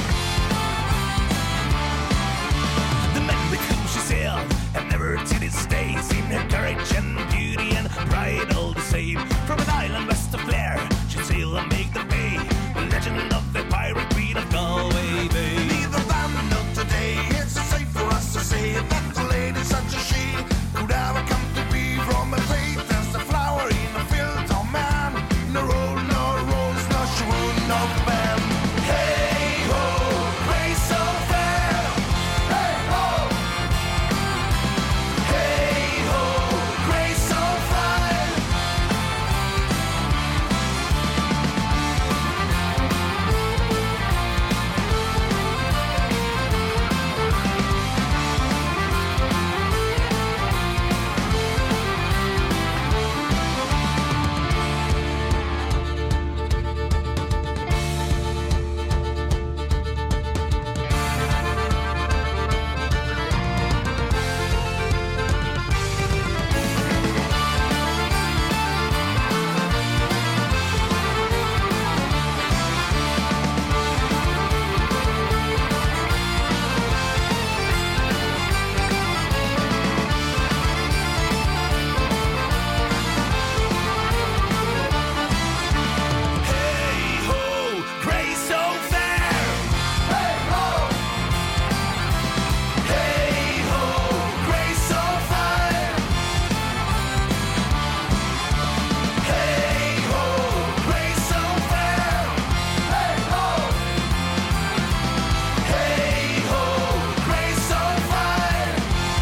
The men with whom she sailed have never to this day seen her courage and beauty and pride all the same. From an island west of Blair, she'd sail and make the bay. The legend of the pirate queen of Galway Bay. Neither then nor today, it's safe for us to say that the lady such as she could ever come to be. From a faith as a flower in a field of man. No roll, no rolls, no shrew, no band. Hey ho, Grace so fair. Hey ho. Hey ho, Grace so fine. Hey ho, Grace so fair. Hey ho. Hey ho, Grace so fine. Hey ho, Grace so fair. Hey ho. Hey ho, Grace so fine.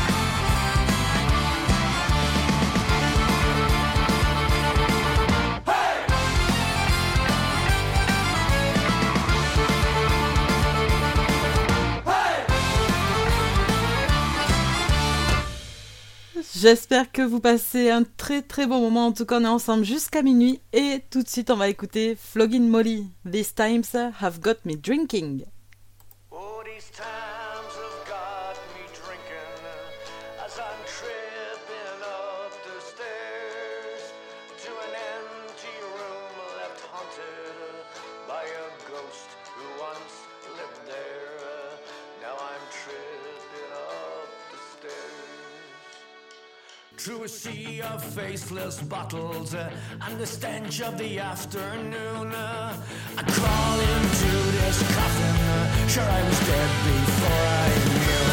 J'espère que vous passez un très très bon moment. En tout cas, on est ensemble jusqu'à minuit. Et tout de suite, on va écouter Flogging Molly. These times have got me drinking. Oh, these times have got me drinking as I'm tripping up the stairs to an empty room left haunted by a ghost who once lived there. Now I'm tripping up the stairs. Through a sea of faceless bottles and the stench of the afternoon, I crawl into this coffin. Sure, I was dead before I knew.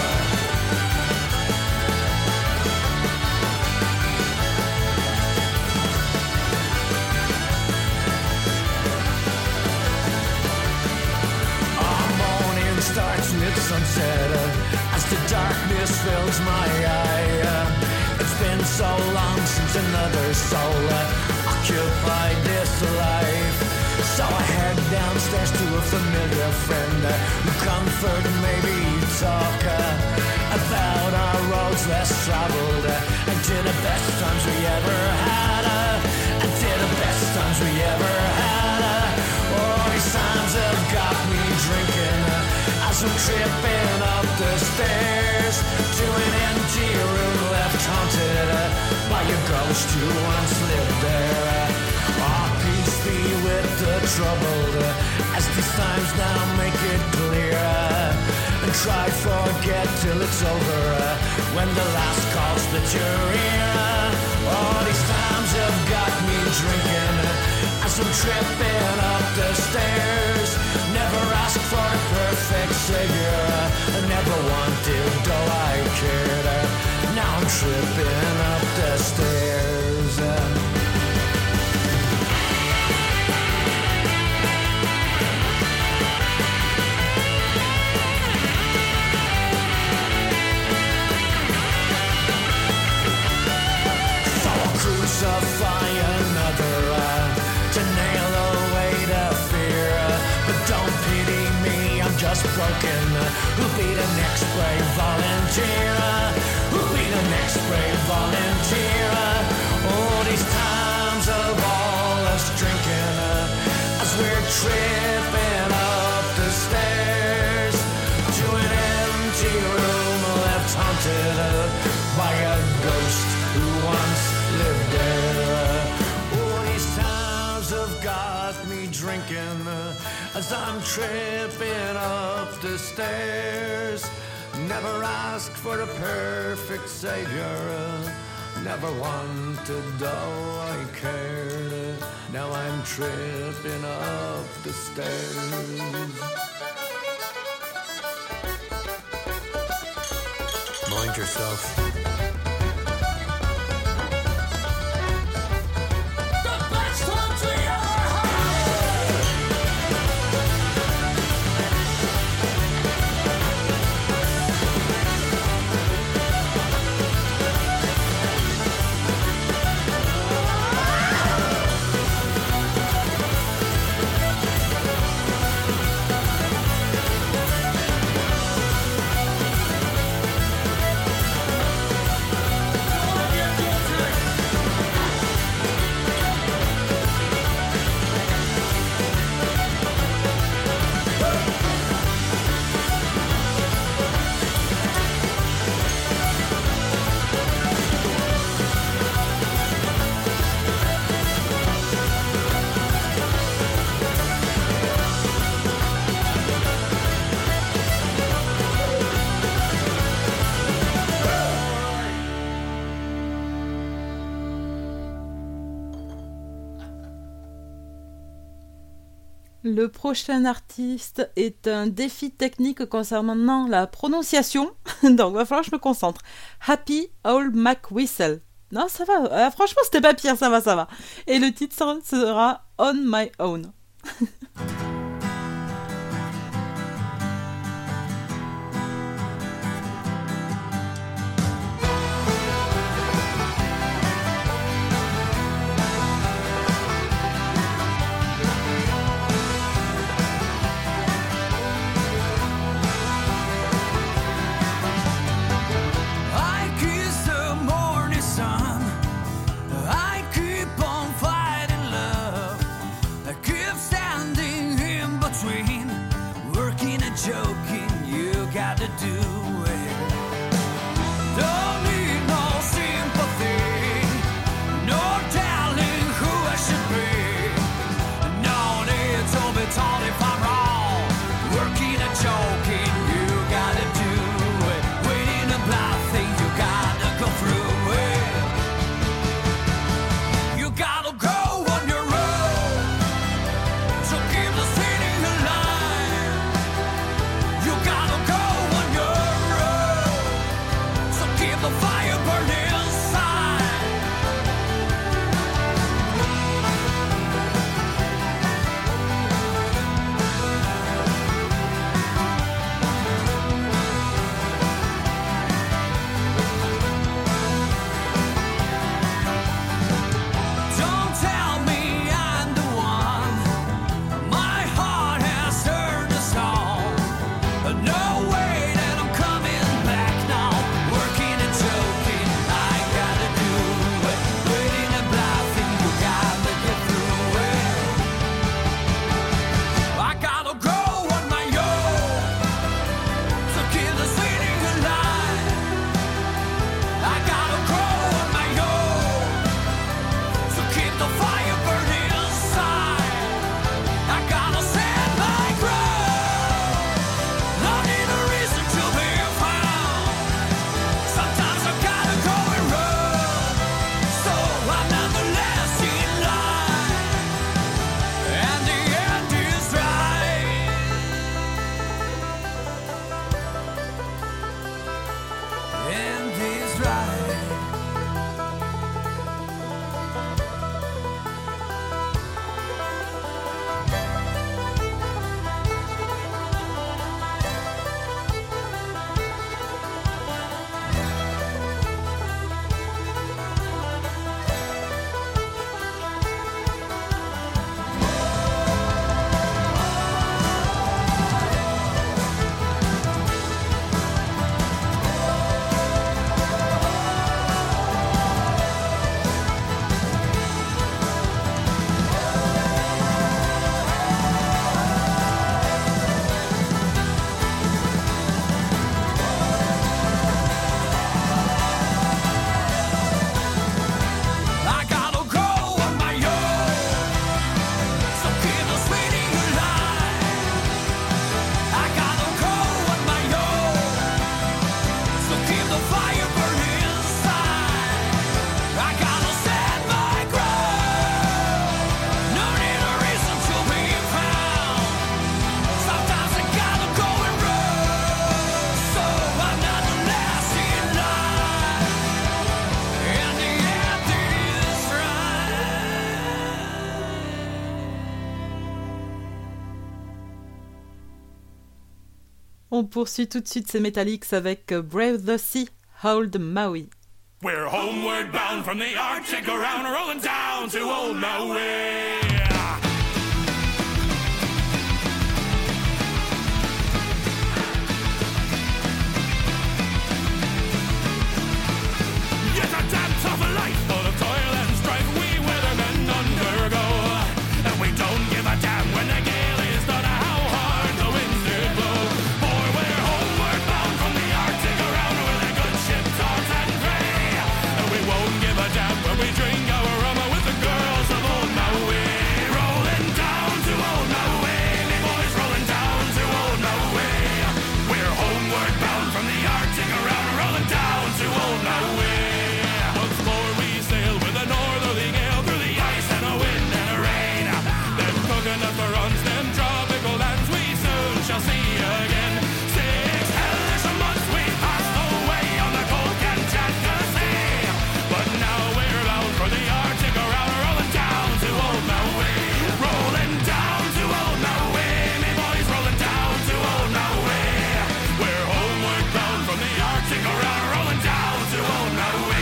Our morning starts with sunset as the darkness fills my eye. It's been so long since another soul occupied this life. So I head downstairs to a familiar friend who comfort and maybe talk about our roads less traveled and to the best times we ever had. And to the best times we ever had. Oh, these times have got me drinking as I'm tripping up the stairs to an empty room left haunted by a ghost who once lived there. Oh, peace be with the troubled as these times now make it clear. And try forget till it's over when the last call split your ear. Oh, these times have got me drinking as I'm tripping up the stairs. Never asked for a perfect savior. I never wanted, though I cared. Now I'm tripping up the stairs. Crucify another to nail away the fear. But don't pity me, I'm just broken. Who'll be the next brave volunteer? Who'll be the next brave volunteer? All these times of all us drinking as we're tripping up the stairs to an empty room left haunted by a ghost who once lived there. All these times have got me drinking as I'm tripping up the stairs. Never asked for a perfect savior. Never wanted, though I cared. Now I'm tripping up the stairs. Mind yourself. Le prochain artiste est un défi technique concernant la prononciation, donc il va falloir que je me concentre. Happy Old Mac Whistle. Non, ça va, franchement c'était pas pire, ça va. Et le titre sera On My Own. I keep on fighting love. I keep standing On poursuit tout de suite ces Metallics avec Brave the Sea, Old Maui. We're homeward bound from the Arctic around, rolling down to old Maui. Yes, a damn tough life full of toil and strife we weathermen undergo, and we don't give a damn when the gale is done how hard the winds do blow. For we're homeward bound from the Arctic around with a good ship taut and grey, and we won't give a damn when we drink our rum with the girls of old Maui. Rolling down to old Maui, me boys, rolling down to old Maui. We're homeward bound from the Arctic around, rolling down to old Maui. Once more we sail with a northerly gale through the ice and a wind and a rain. Them coconut runs, them tropical lands we soon shall see again. 6 hellish months we passed away on the cold Kamchatka Sea, but now we're bound for the Arctic around, rolling down to old Maui. Rolling down to old Maui, me boys, rolling down to old Maui. We're homeward bound from the Arctic around, rolling down to old Maui.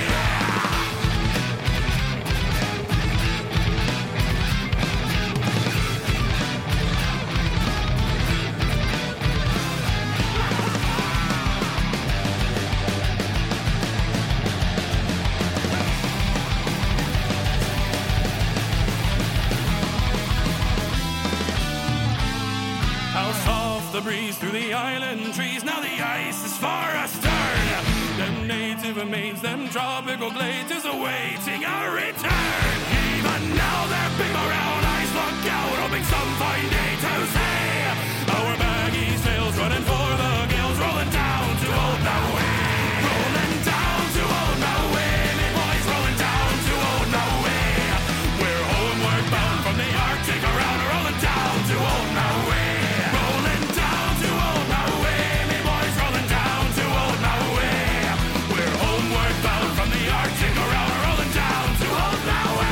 How soft the breeze through the island trees, now the ice is far astern. Them native maids, them tropical glades is awaiting our return. Even now their big brown eyes look out, hoping some fine day to see our baggy sails running for the gales, rolling down to old Maui. Rolling down to old Maui, me boys, rolling down to old Maui. We're homeward bound from the Arctic around, rolling down to old Maui. Rolling down to old Maui, me boys, rolling down to old Maui. We're homeward bound from the Arctic around, rolling down to old Maui.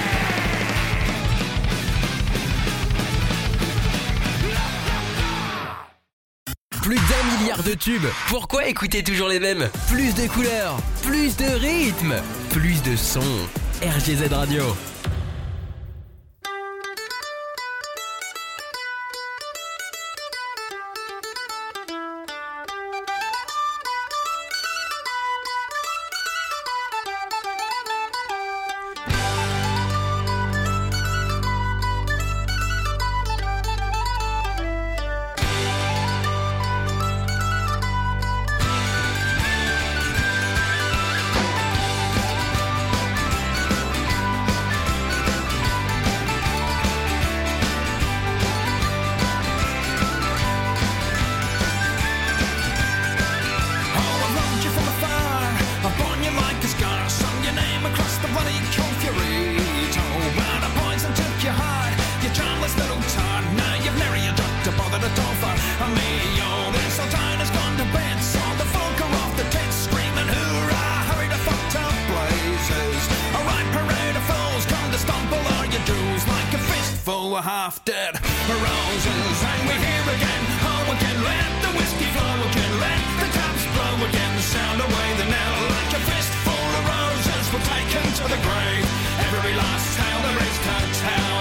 Plus d'1 milliard de tubes. Pourquoi écouter toujours les mêmes? Plus de couleurs, plus de rythme, plus de sons. RGZ Radio. Half dead roses, and we're here again. Oh, again, let the whiskey flow again, let the taps blow again. Sound away the knell like a fistful of roses were taken to the grave. Every last tale there is to tell.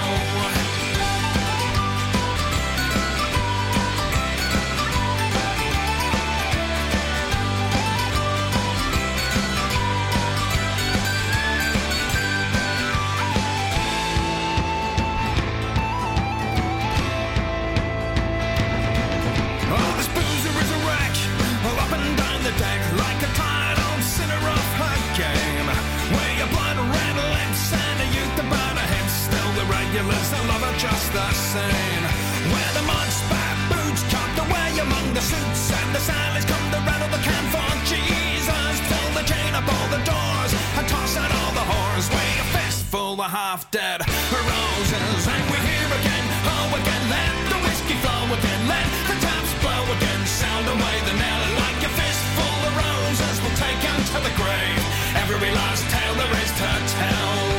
Just the same. Where the mud spat boots tucked away among the suits, and the sailors come to rattle the can for Jesus. Pull the chain up all the doors and toss out all the whores. Weigh a fistful of half dead roses, and we're here again. Oh, again, let the whiskey flow again, let the taps blow again. Sound away the knell like a fistful of roses will take out to the grave. Every last tale there is to tell.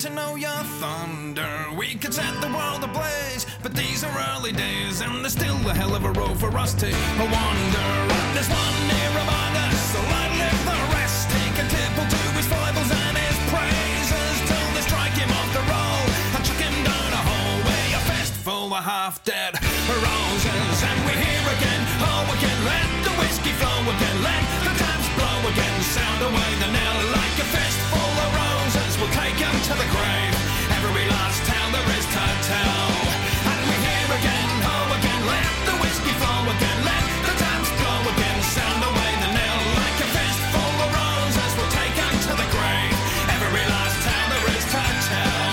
to know your thunder. We could set the world ablaze, but these are early days, and there's still a hell of a road for us to wander. There's one near among us, so I'll live the rest. Take a tipple to his foibles and his praises, till they strike him off the roll and chuck him down a hallway, a fist full of half-dead roses. And we hear again, oh again, let the whiskey flow again, let the taps blow again, sound away the knell like a fist full of roses. We'll take him to the grave, every last tale there is to tell. And we hear again, oh again, let the whiskey flow again, let the taps blow again, sound away the knell like a fist full of roses. We'll take him to the grave, every last tale there is to tell.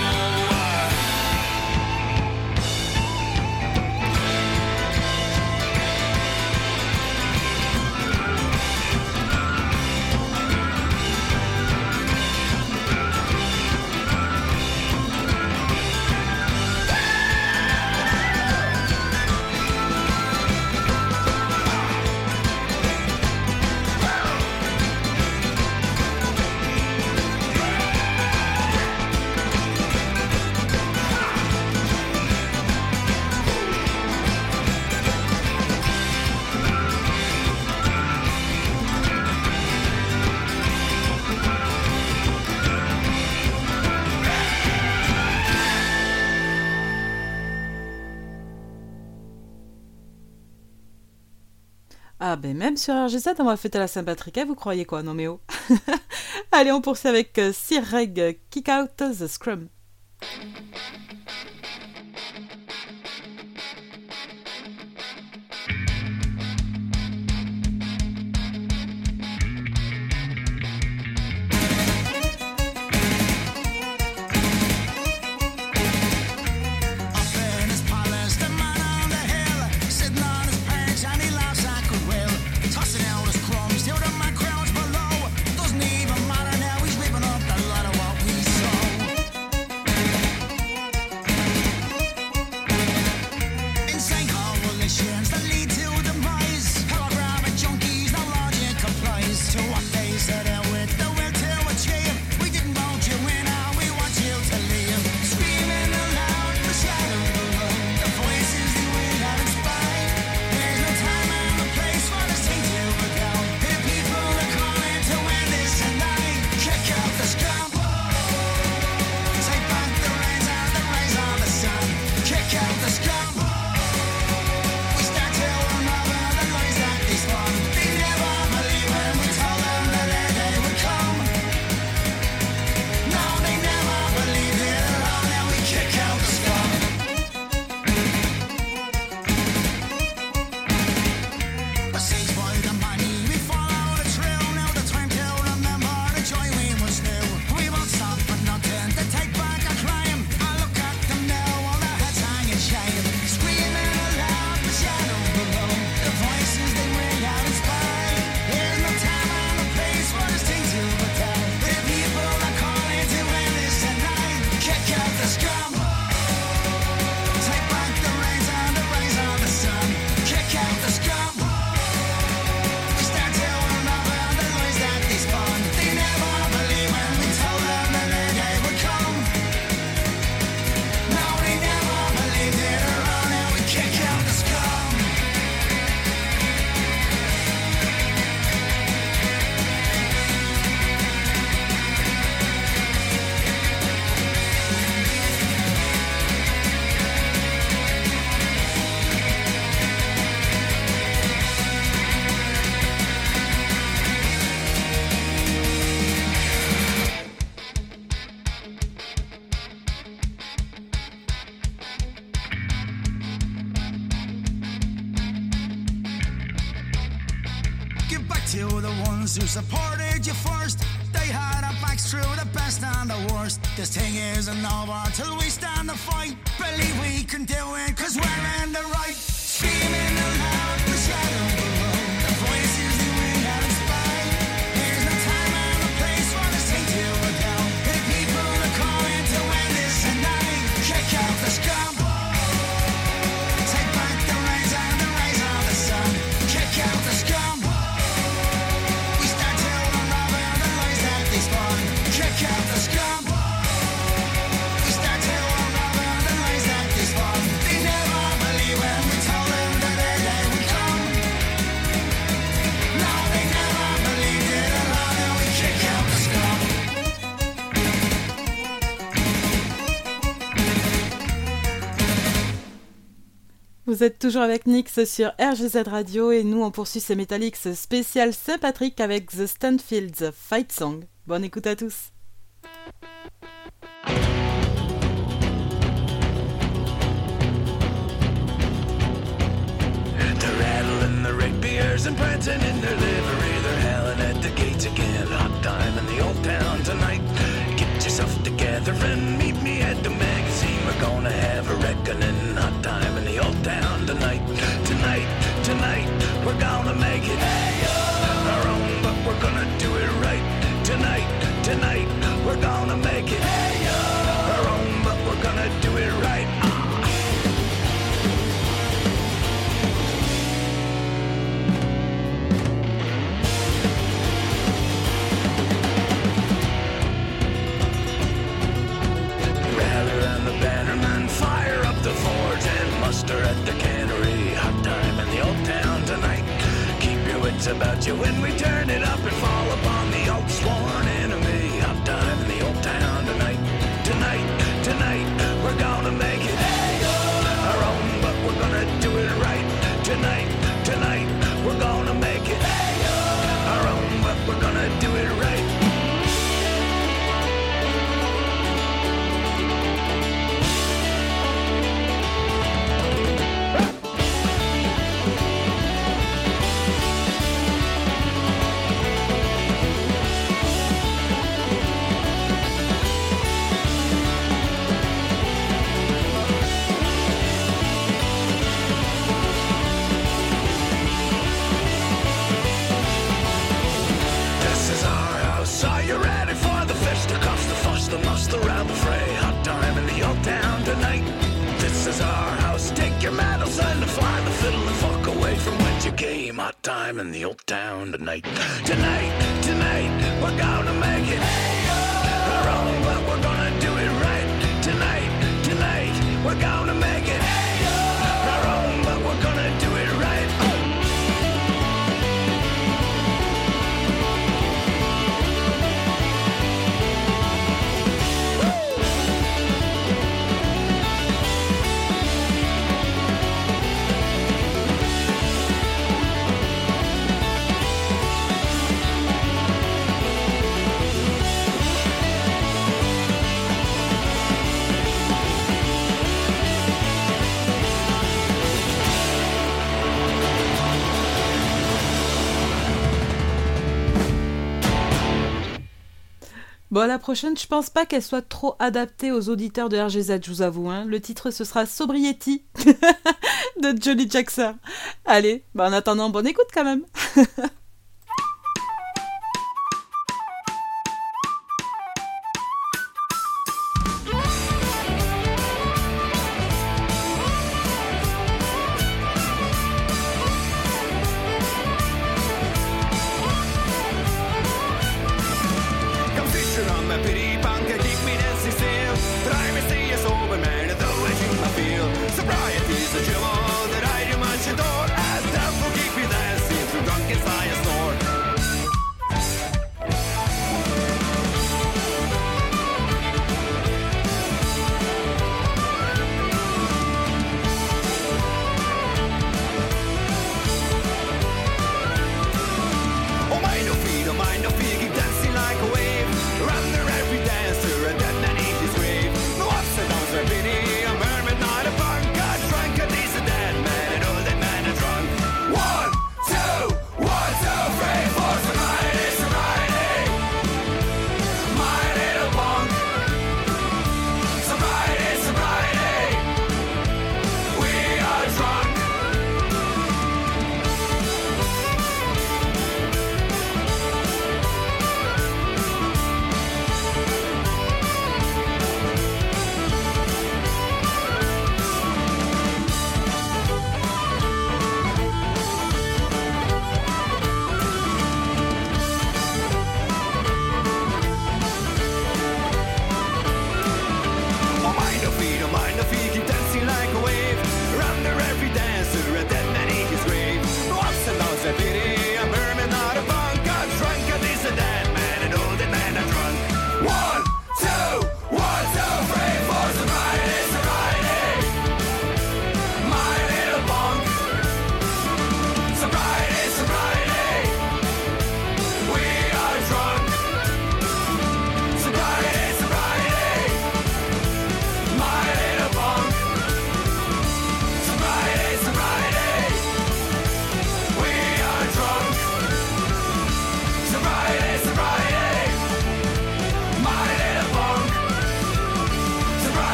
Ah ben même sur RG7 on va fêter la Saint-Patrick, hein, vous croyez quoi, non mais oh. Allez, on poursuit avec Sir Reg, Kick Out the Scrum. to the ones who supported you first. They had our backs through the best and the worst. This thing isn't over till we stand the fight. Believe we can do it, cause we're in the right. Screaming aloud, the shadow below. The voices that we have inspired. There's no time and no place for this thing to go. The people are calling to end this tonight. Kick out the scum. Take back the rays and the rays of the sun. Kick out the scum. We stand till unravel the lies that they spawn. Kick out the scum. Vous êtes toujours avec Nyx sur RGZ Radio et nous on poursuit ces Metallics spécial Saint-Patrick avec The Stanfields Fight Song. Bonne écoute à tous. They're rattling the rapiers and prancing in their livery. They're howling at the gates again. Hot time in the old town tonight. Get yourself together and meet me at the magazine. We're gonna have a reckoning. Hot time in the old town tonight. Tonight, tonight, we're gonna make it our own, but we're gonna do it right. Tonight, tonight, we're gonna make it our own, but we're gonna do it right. Fire up the forge and muster at the cannery. Hot time in the old town tonight. Keep your wits about you when we turn it up and fall upon the old sworn enemy. Hot time in the old town tonight. Tonight, tonight, we're gonna make it our own, but we're gonna do it right. Tonight, tonight, we're gonna make it our own, but we're gonna do it right. Are you ready for the fisticuffs, the fuss, the muss, the rabble fray? Hot time in the old town tonight. This is our house. Take your medals and fly the fiddle and fuck away from whence you came. Hot time in the old town tonight. Tonight, tonight, we're gonna make it our own, but we're gonna do it right. Tonight, tonight, we're gonna make it our own, but we're gonna do it right. Bon, la prochaine, je pense pas qu'elle soit trop adaptée aux auditeurs de RGZ, je vous avoue. Hein. Le titre, ce sera Sobriety de Johnny Jackson. Allez, en attendant, bonne écoute quand même. Sobriety's a jewel that I do much adore, as devil keep me dancing through drunken fire.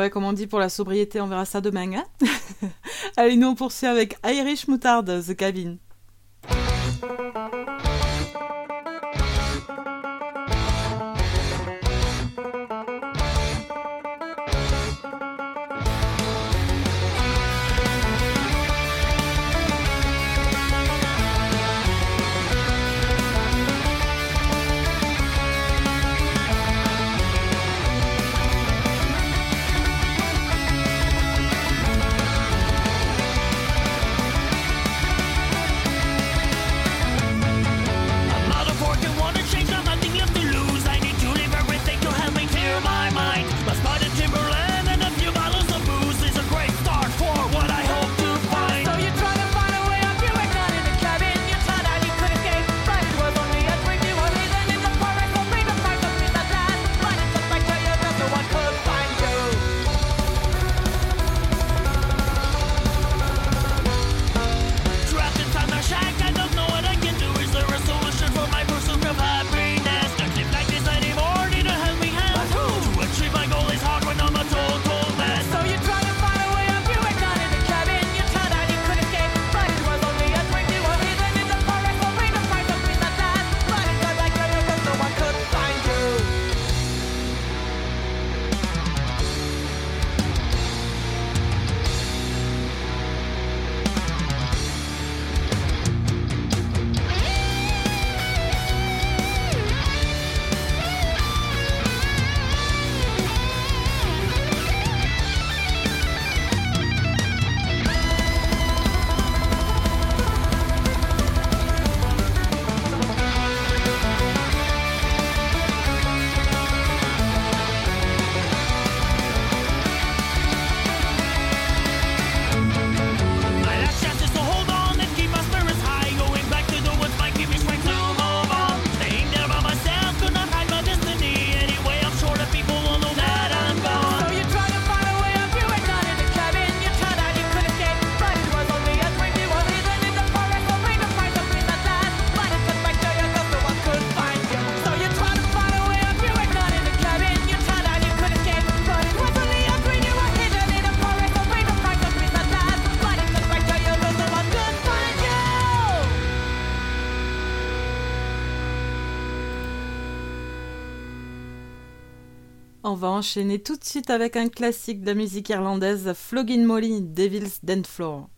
ouais, comme on dit pour la sobriété, on verra ça demain. Hein. Allez, nous on poursuit avec Irish Moutard, The Cabin. On va enchaîner tout de suite avec un classique de la musique irlandaise, Flogging Molly, Devil's Dance Floor.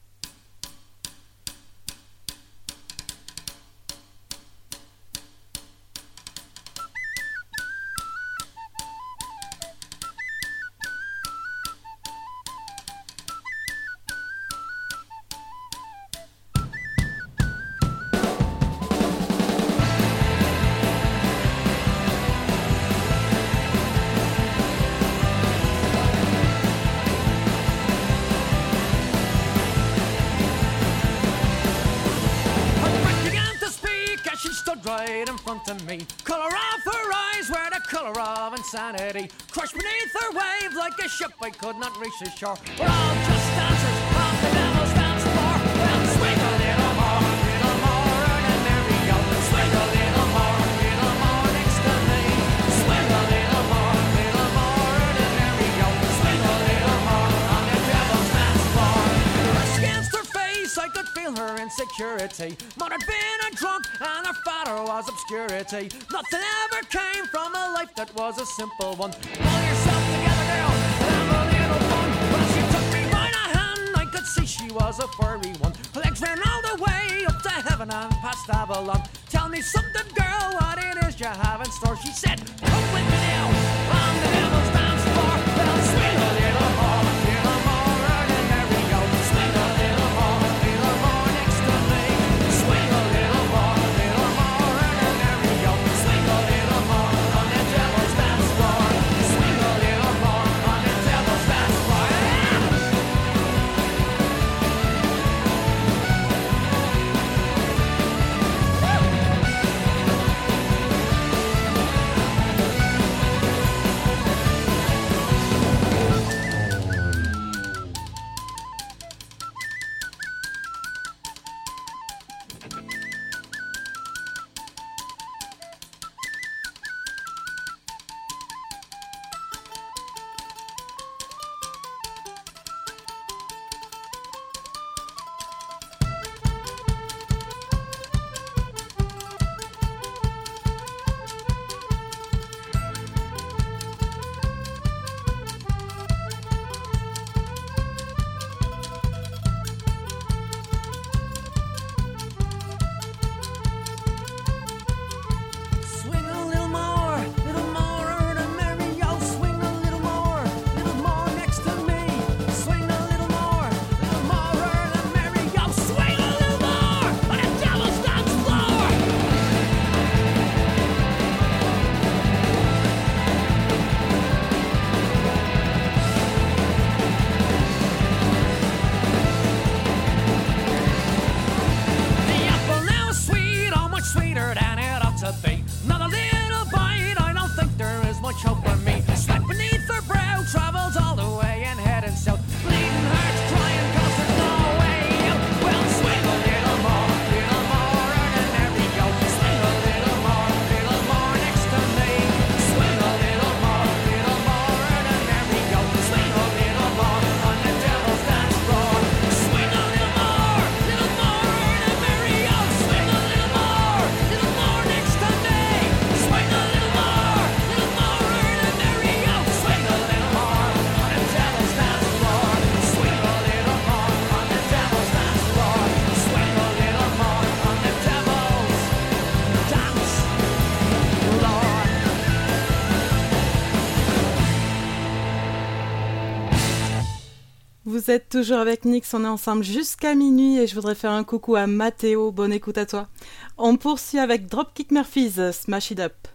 Right in front of me, color of her eyes were the color of insanity. Crushed beneath her wave like a ship I could not reach the shore. We're all just dancers on the devil's dance floor. Well, swing a little more, and then there we go. Swing a little more next to me. Swing a little more, and then there we go. Swing a little more on the devil's dance floor. Pressed against her face, I could feel her insecurity. Mother had been a drunk and her father was obscurity. Nothing ever came from a life that was a simple one. Pull yourself together, girl, and have a little fun. When she took me by the hand, I could see she was a furry one. Her legs ran all the way up to heaven and past Avalon. Tell me something, girl, what it is you have in store. She said, come with me now on the devil's dance floor. Well, swing a little more, and then there we go. Swing a little more next to me. Swing a little more, and then there we go. Swing a little more on the devil's dance floor. Swing a little more on the devil's dance floor. to be. Not a little bite, I don't think there is much hope for me. Sweat beneath her brow travels all the way and heading south. Bleeding hearts crying cause there's no way out. Well, swing a little more, and there we go. Swing a little more next to me. Swing a little more, and there we go. Swing a little more on the devil's dance floor. Swing a little more, and there we go. Swing a little more next to me. Swing a little more, and there we go. Swing a little more on the devil's dance floor. Swing a little more on the devil's dance floor. Swing a little more on the devil's dance floor. Vous êtes toujours avec Nix, on est ensemble jusqu'à minuit et je voudrais faire un coucou à Mathéo, bonne écoute à toi. On poursuit avec Dropkick Murphys, Smash It Up.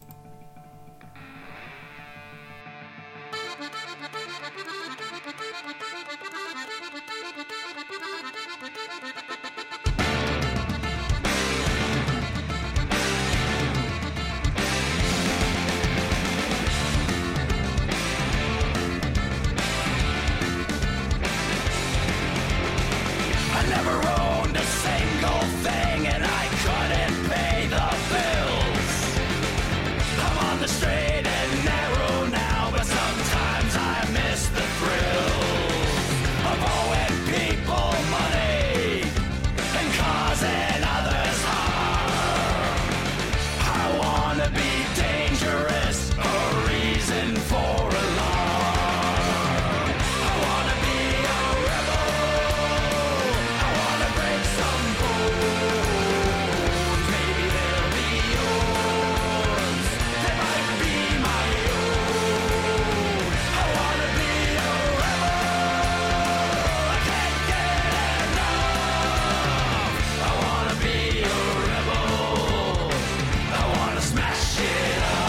I never owned a single thing and I couldn't pay the bills. I'm on the straight and narrow now, but sometimes I miss the thrill of owing people money and causing others harm. I wanna be dangerous, a reason for alarm. I wanna be a rebel. I wanna break some bones. Maybe they'll be yours. They might be my own. I wanna be a rebel. I can't get enough. I wanna be a rebel. I wanna smash it up.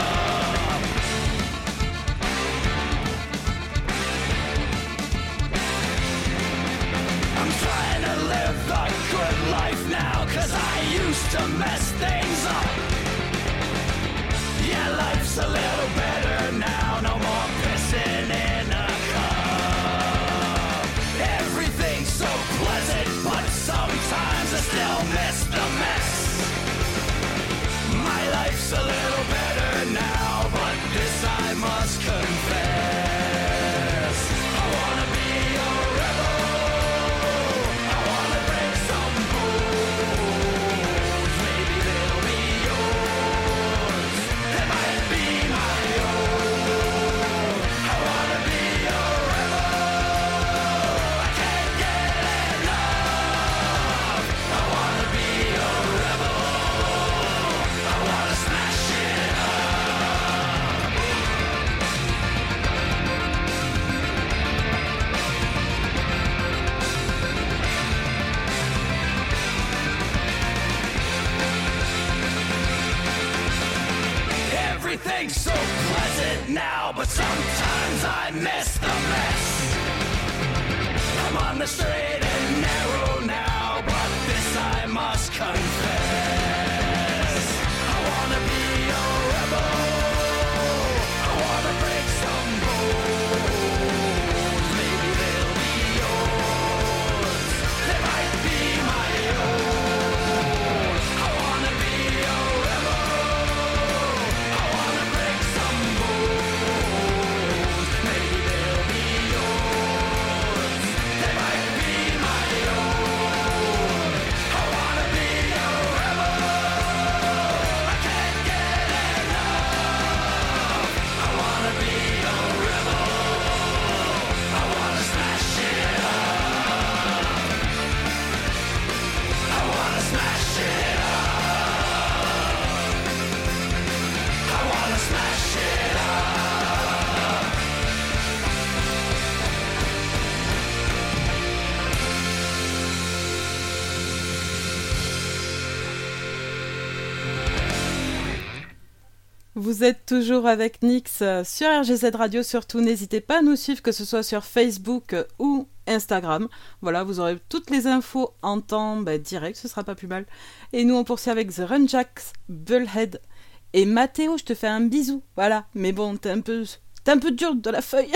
I'm trying to live the good life now, 'cause I used to mess things up. Yeah, life's a little better now, no more pissing in a cup. Everything's so pleasant, but sometimes I still miss the mess. My life's a little better now, but this I must confess. I wanna be a rebel. I wanna break some bones. Maybe they'll be yours. They might be my own. I wanna be a rebel. I can't get enough. I wanna be a rebel. I wanna smash it up. Everything's so pleasant now, but sometimes I miss the mess. I'm on the straight and narrow now, but this I must confess. I wanna be a rebel. I wanna break some bones. Maybe they'll be yours. They might be my own. I wanna be a rebel. I wanna break some bones. Maybe they'll be yours. They might be my own. I wanna be a rebel. I can't get enough. I wanna be a rebel. I wanna smash it up. I wanna smash it up. I wanna smash it up. Vous êtes toujours avec Nix sur RGZ Radio, surtout n'hésitez pas à nous suivre, que ce soit sur Facebook ou Instagram. Voilà, vous aurez toutes les infos en temps direct, ce sera pas plus mal. Et nous, on poursuit avec The Runjacks, Bullhead. Et Mathéo, je te fais un bisou. Voilà, mais bon, t'es un peu dur de la feuille.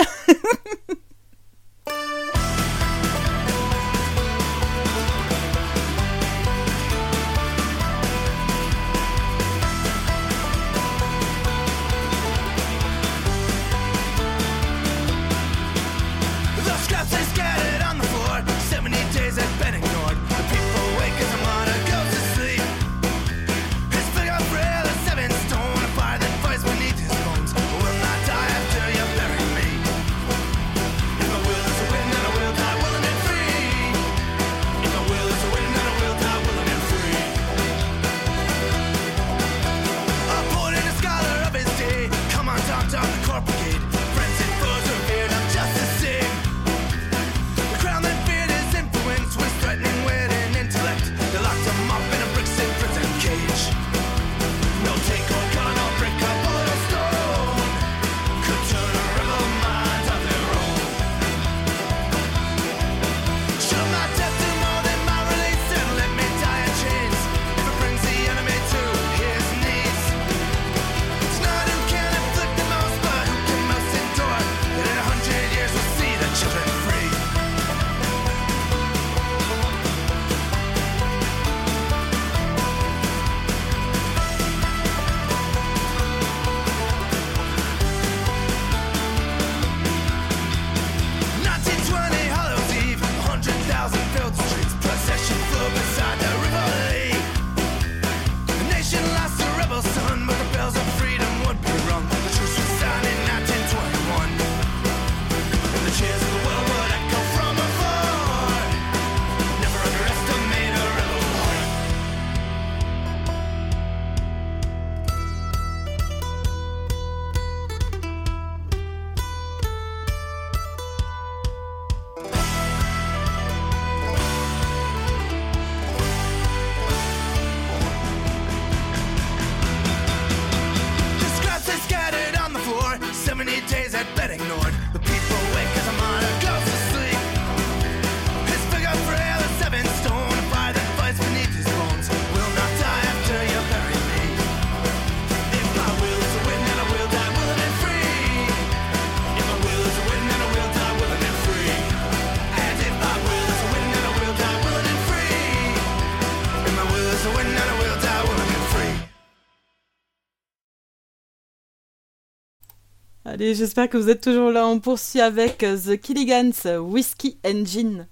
Allez, j'espère que vous êtes toujours là. On poursuit avec The Killigans, Whiskey Engine.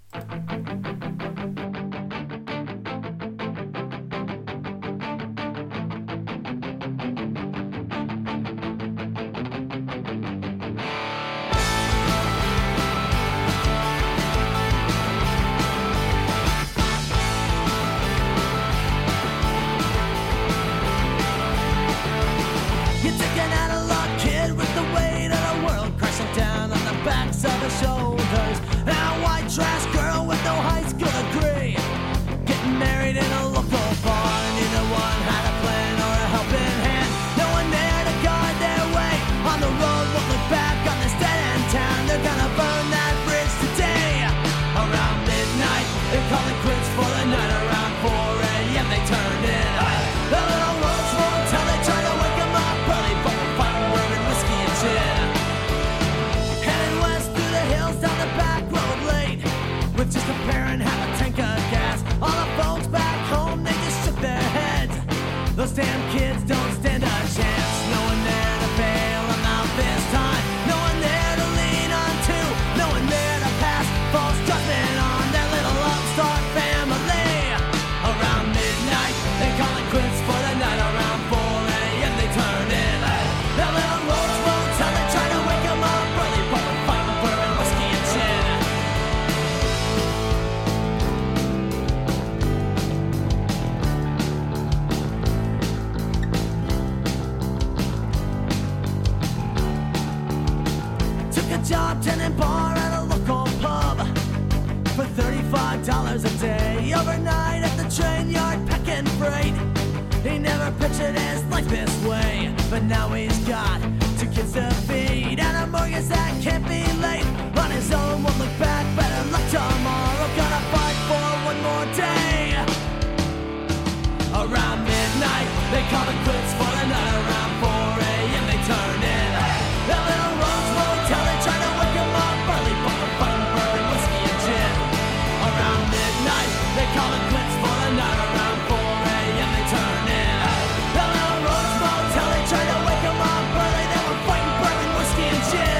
Shoulders, and a white trash girl with no high school degree, getting married in a local bar. Neither one had a plan or a helping hand. No one there to guide their way on the road. Won't look back on this dead-end town. They're gonna burn that bridge today. Around midnight, they're calling quits for the night. Around 4 a.m. they turned in. The little roads won't tell. They try to wake them up early, but we're fighting bourbon, whiskey, and gin. Down the back road late, with just a pair and half a tank of gas. All the folks back home, they just shook their heads. Those damn kids don't stand a chance. No one there to bail them out this time. No one there to lean on to. No one there to pass false judgment on their little upstart family. Around midnight, they call it quits for the night. Around 4 a.m. they turn in. Their little roads won't tell. They try to wake them up early, but we're fighting for it. Job tending bar at a local pub for $35 a day. Overnight at the train yard packing freight. He never pictured his life this way, but now he's got 2 kids to feed and a mortgage that can't be late on his zone, won't look back, better luck tomorrow. Gonna fight for one more day. Around midnight, they call it quits for the night. Around 4 a.m. they turn in. The little Rose Motel, they try to wake 'em up early, but they're fighting bourbon, whiskey, and gin. Around midnight, they call it quits for the night. Around 4 a.m. they turn in. The little Rose Motel, they try to wake 'em up early, they were fighting bourbon, whiskey, and gin.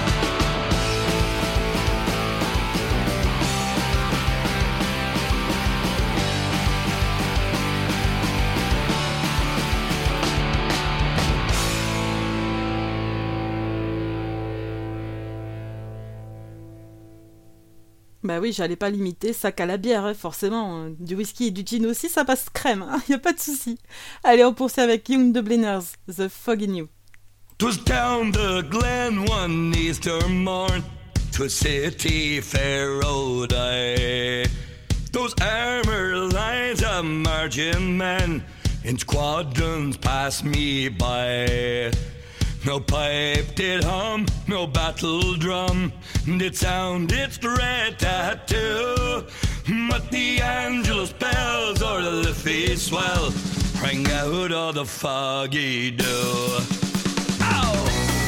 Bah oui, j'allais pas limiter sac à la bière, hein, forcément. Du whisky et du gin aussi, ça passe crème, hein, y a pas de souci. Allez, on poursuit avec Young Dubliners, The Fog in You. 'Twas down the glen one Easter morn, 'twas city fair road I. Those armor lines of marching men in squadrons passed me by. No pipe did hum, no battle drum did sound its dread tattoo. But the Angelus bells or the Liffey swell rang out of the foggy dew. Ow!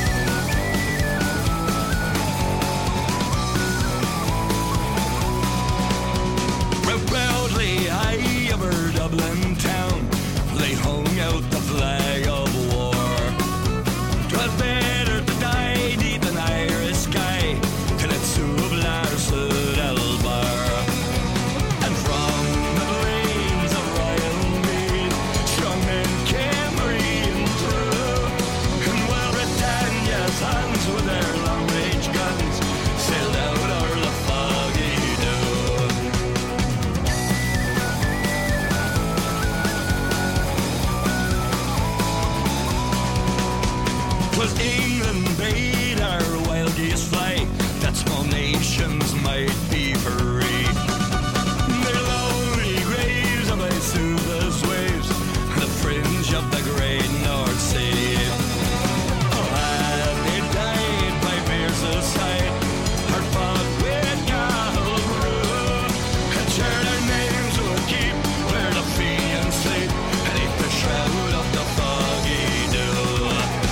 Proudly high over Dublin town, they hung out the flag of war. 'Twas better to die deep in Irish sky than at Sublar Elbar. And from the lanes of Royal Mead, strong men came reeling through. And while Britannia's hands with their long-range guns sailed out o'er the foggy dew. 'Twas England bade our wild geese fly, that small nations might be free. Their lonely graves are by Suva's waves, the fringe of the great North Sea. Oh, have they died by Bear's side, or fought with Gahul Brew, and share their names will keep where the fiends sleep, beneath the shroud of the foggy dew.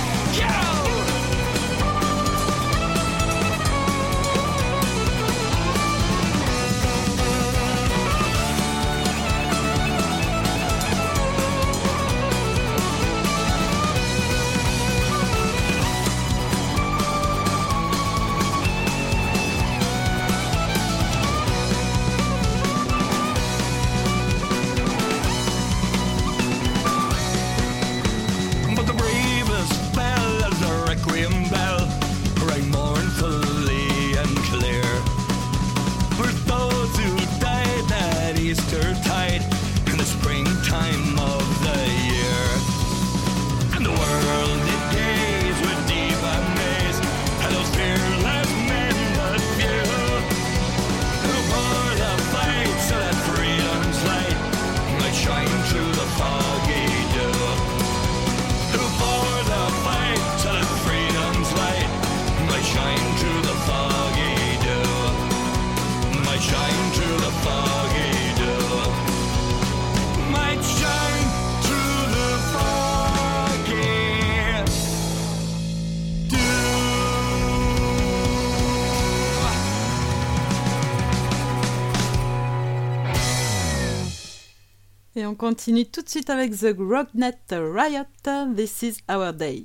But the bravest fell as the requiem bell rang mournfully and clear. For those who died that Easter tide in the springtime of the year. And the world did gaze with deep amaze at those fearless men but few, who bore the fight so that freedom's light might shine through the foggy dew. Who bore the fight so that freedom's light might shine through the foggy dew, might shine through the foggy dew, might shine through the foggy dew. Et on continue tout de suite avec The Rocknet Riot, This is Our Day.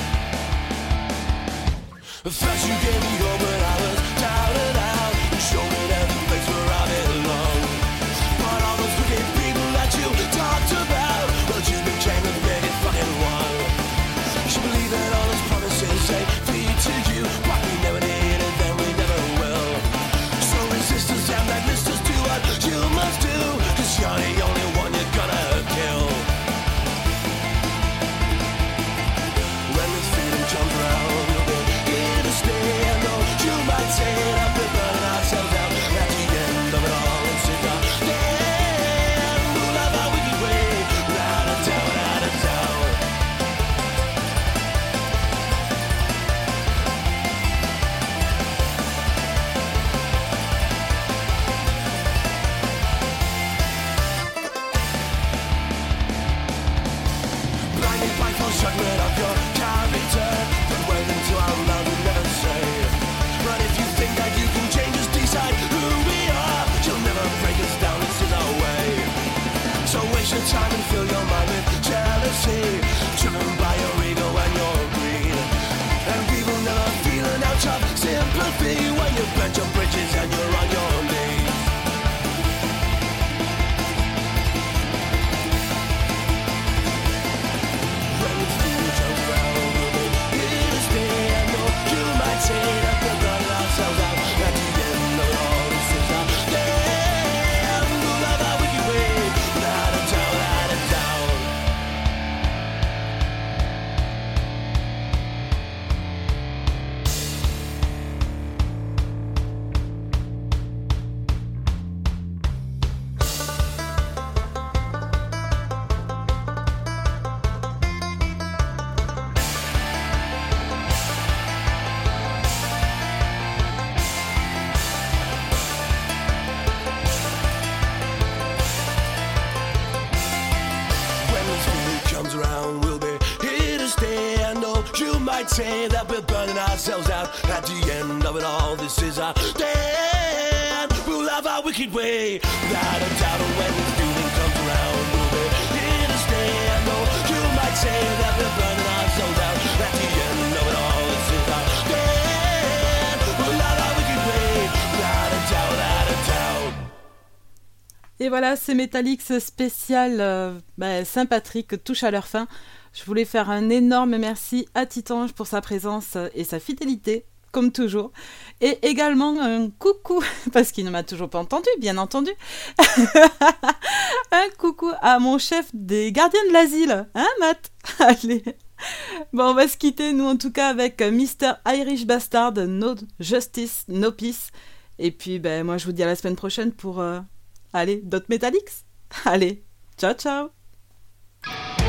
First you gave me hope when I was down and out. You showed me time and fill your mind with jealousy, driven by your ego and your greed. And people never feel an ounce of sympathy when you burnt your bridges and you're on your knees. When the fool comes round, we'll be here to stay. I know you might say that we're running ourselves out. At the end of all this is our day, and we'll have our wicked way. Out of town, out of town. When this food comes around, we'll be here to stay. I know you might say that we're burning ourselves out. At the end of it all, this is our day, and we'll have our wicked way. Without a doubt, when this feeling comes around, we'll be here to stay. I know you might say that we're burning ourselves out. At the end of it all, this is our day, and we'll have our wicked way. Without a doubt, out of doubt. Et voilà, c'est Metallics spécial Saint-Patrick touche à leur fin. Je voulais faire un énorme merci à Titange pour sa présence et sa fidélité, comme toujours. Et également un coucou, parce qu'il ne m'a toujours pas entendu, bien entendu. Un coucou à mon chef des gardiens de l'asile, hein Matt? Allez. Bon, on va se quitter, nous en tout cas, avec Mr. Irish Bastard, No Justice, No Peace. Et puis, moi je vous dis à la semaine prochaine pour... Allez, d'autres Metallics. Allez, ciao ciao.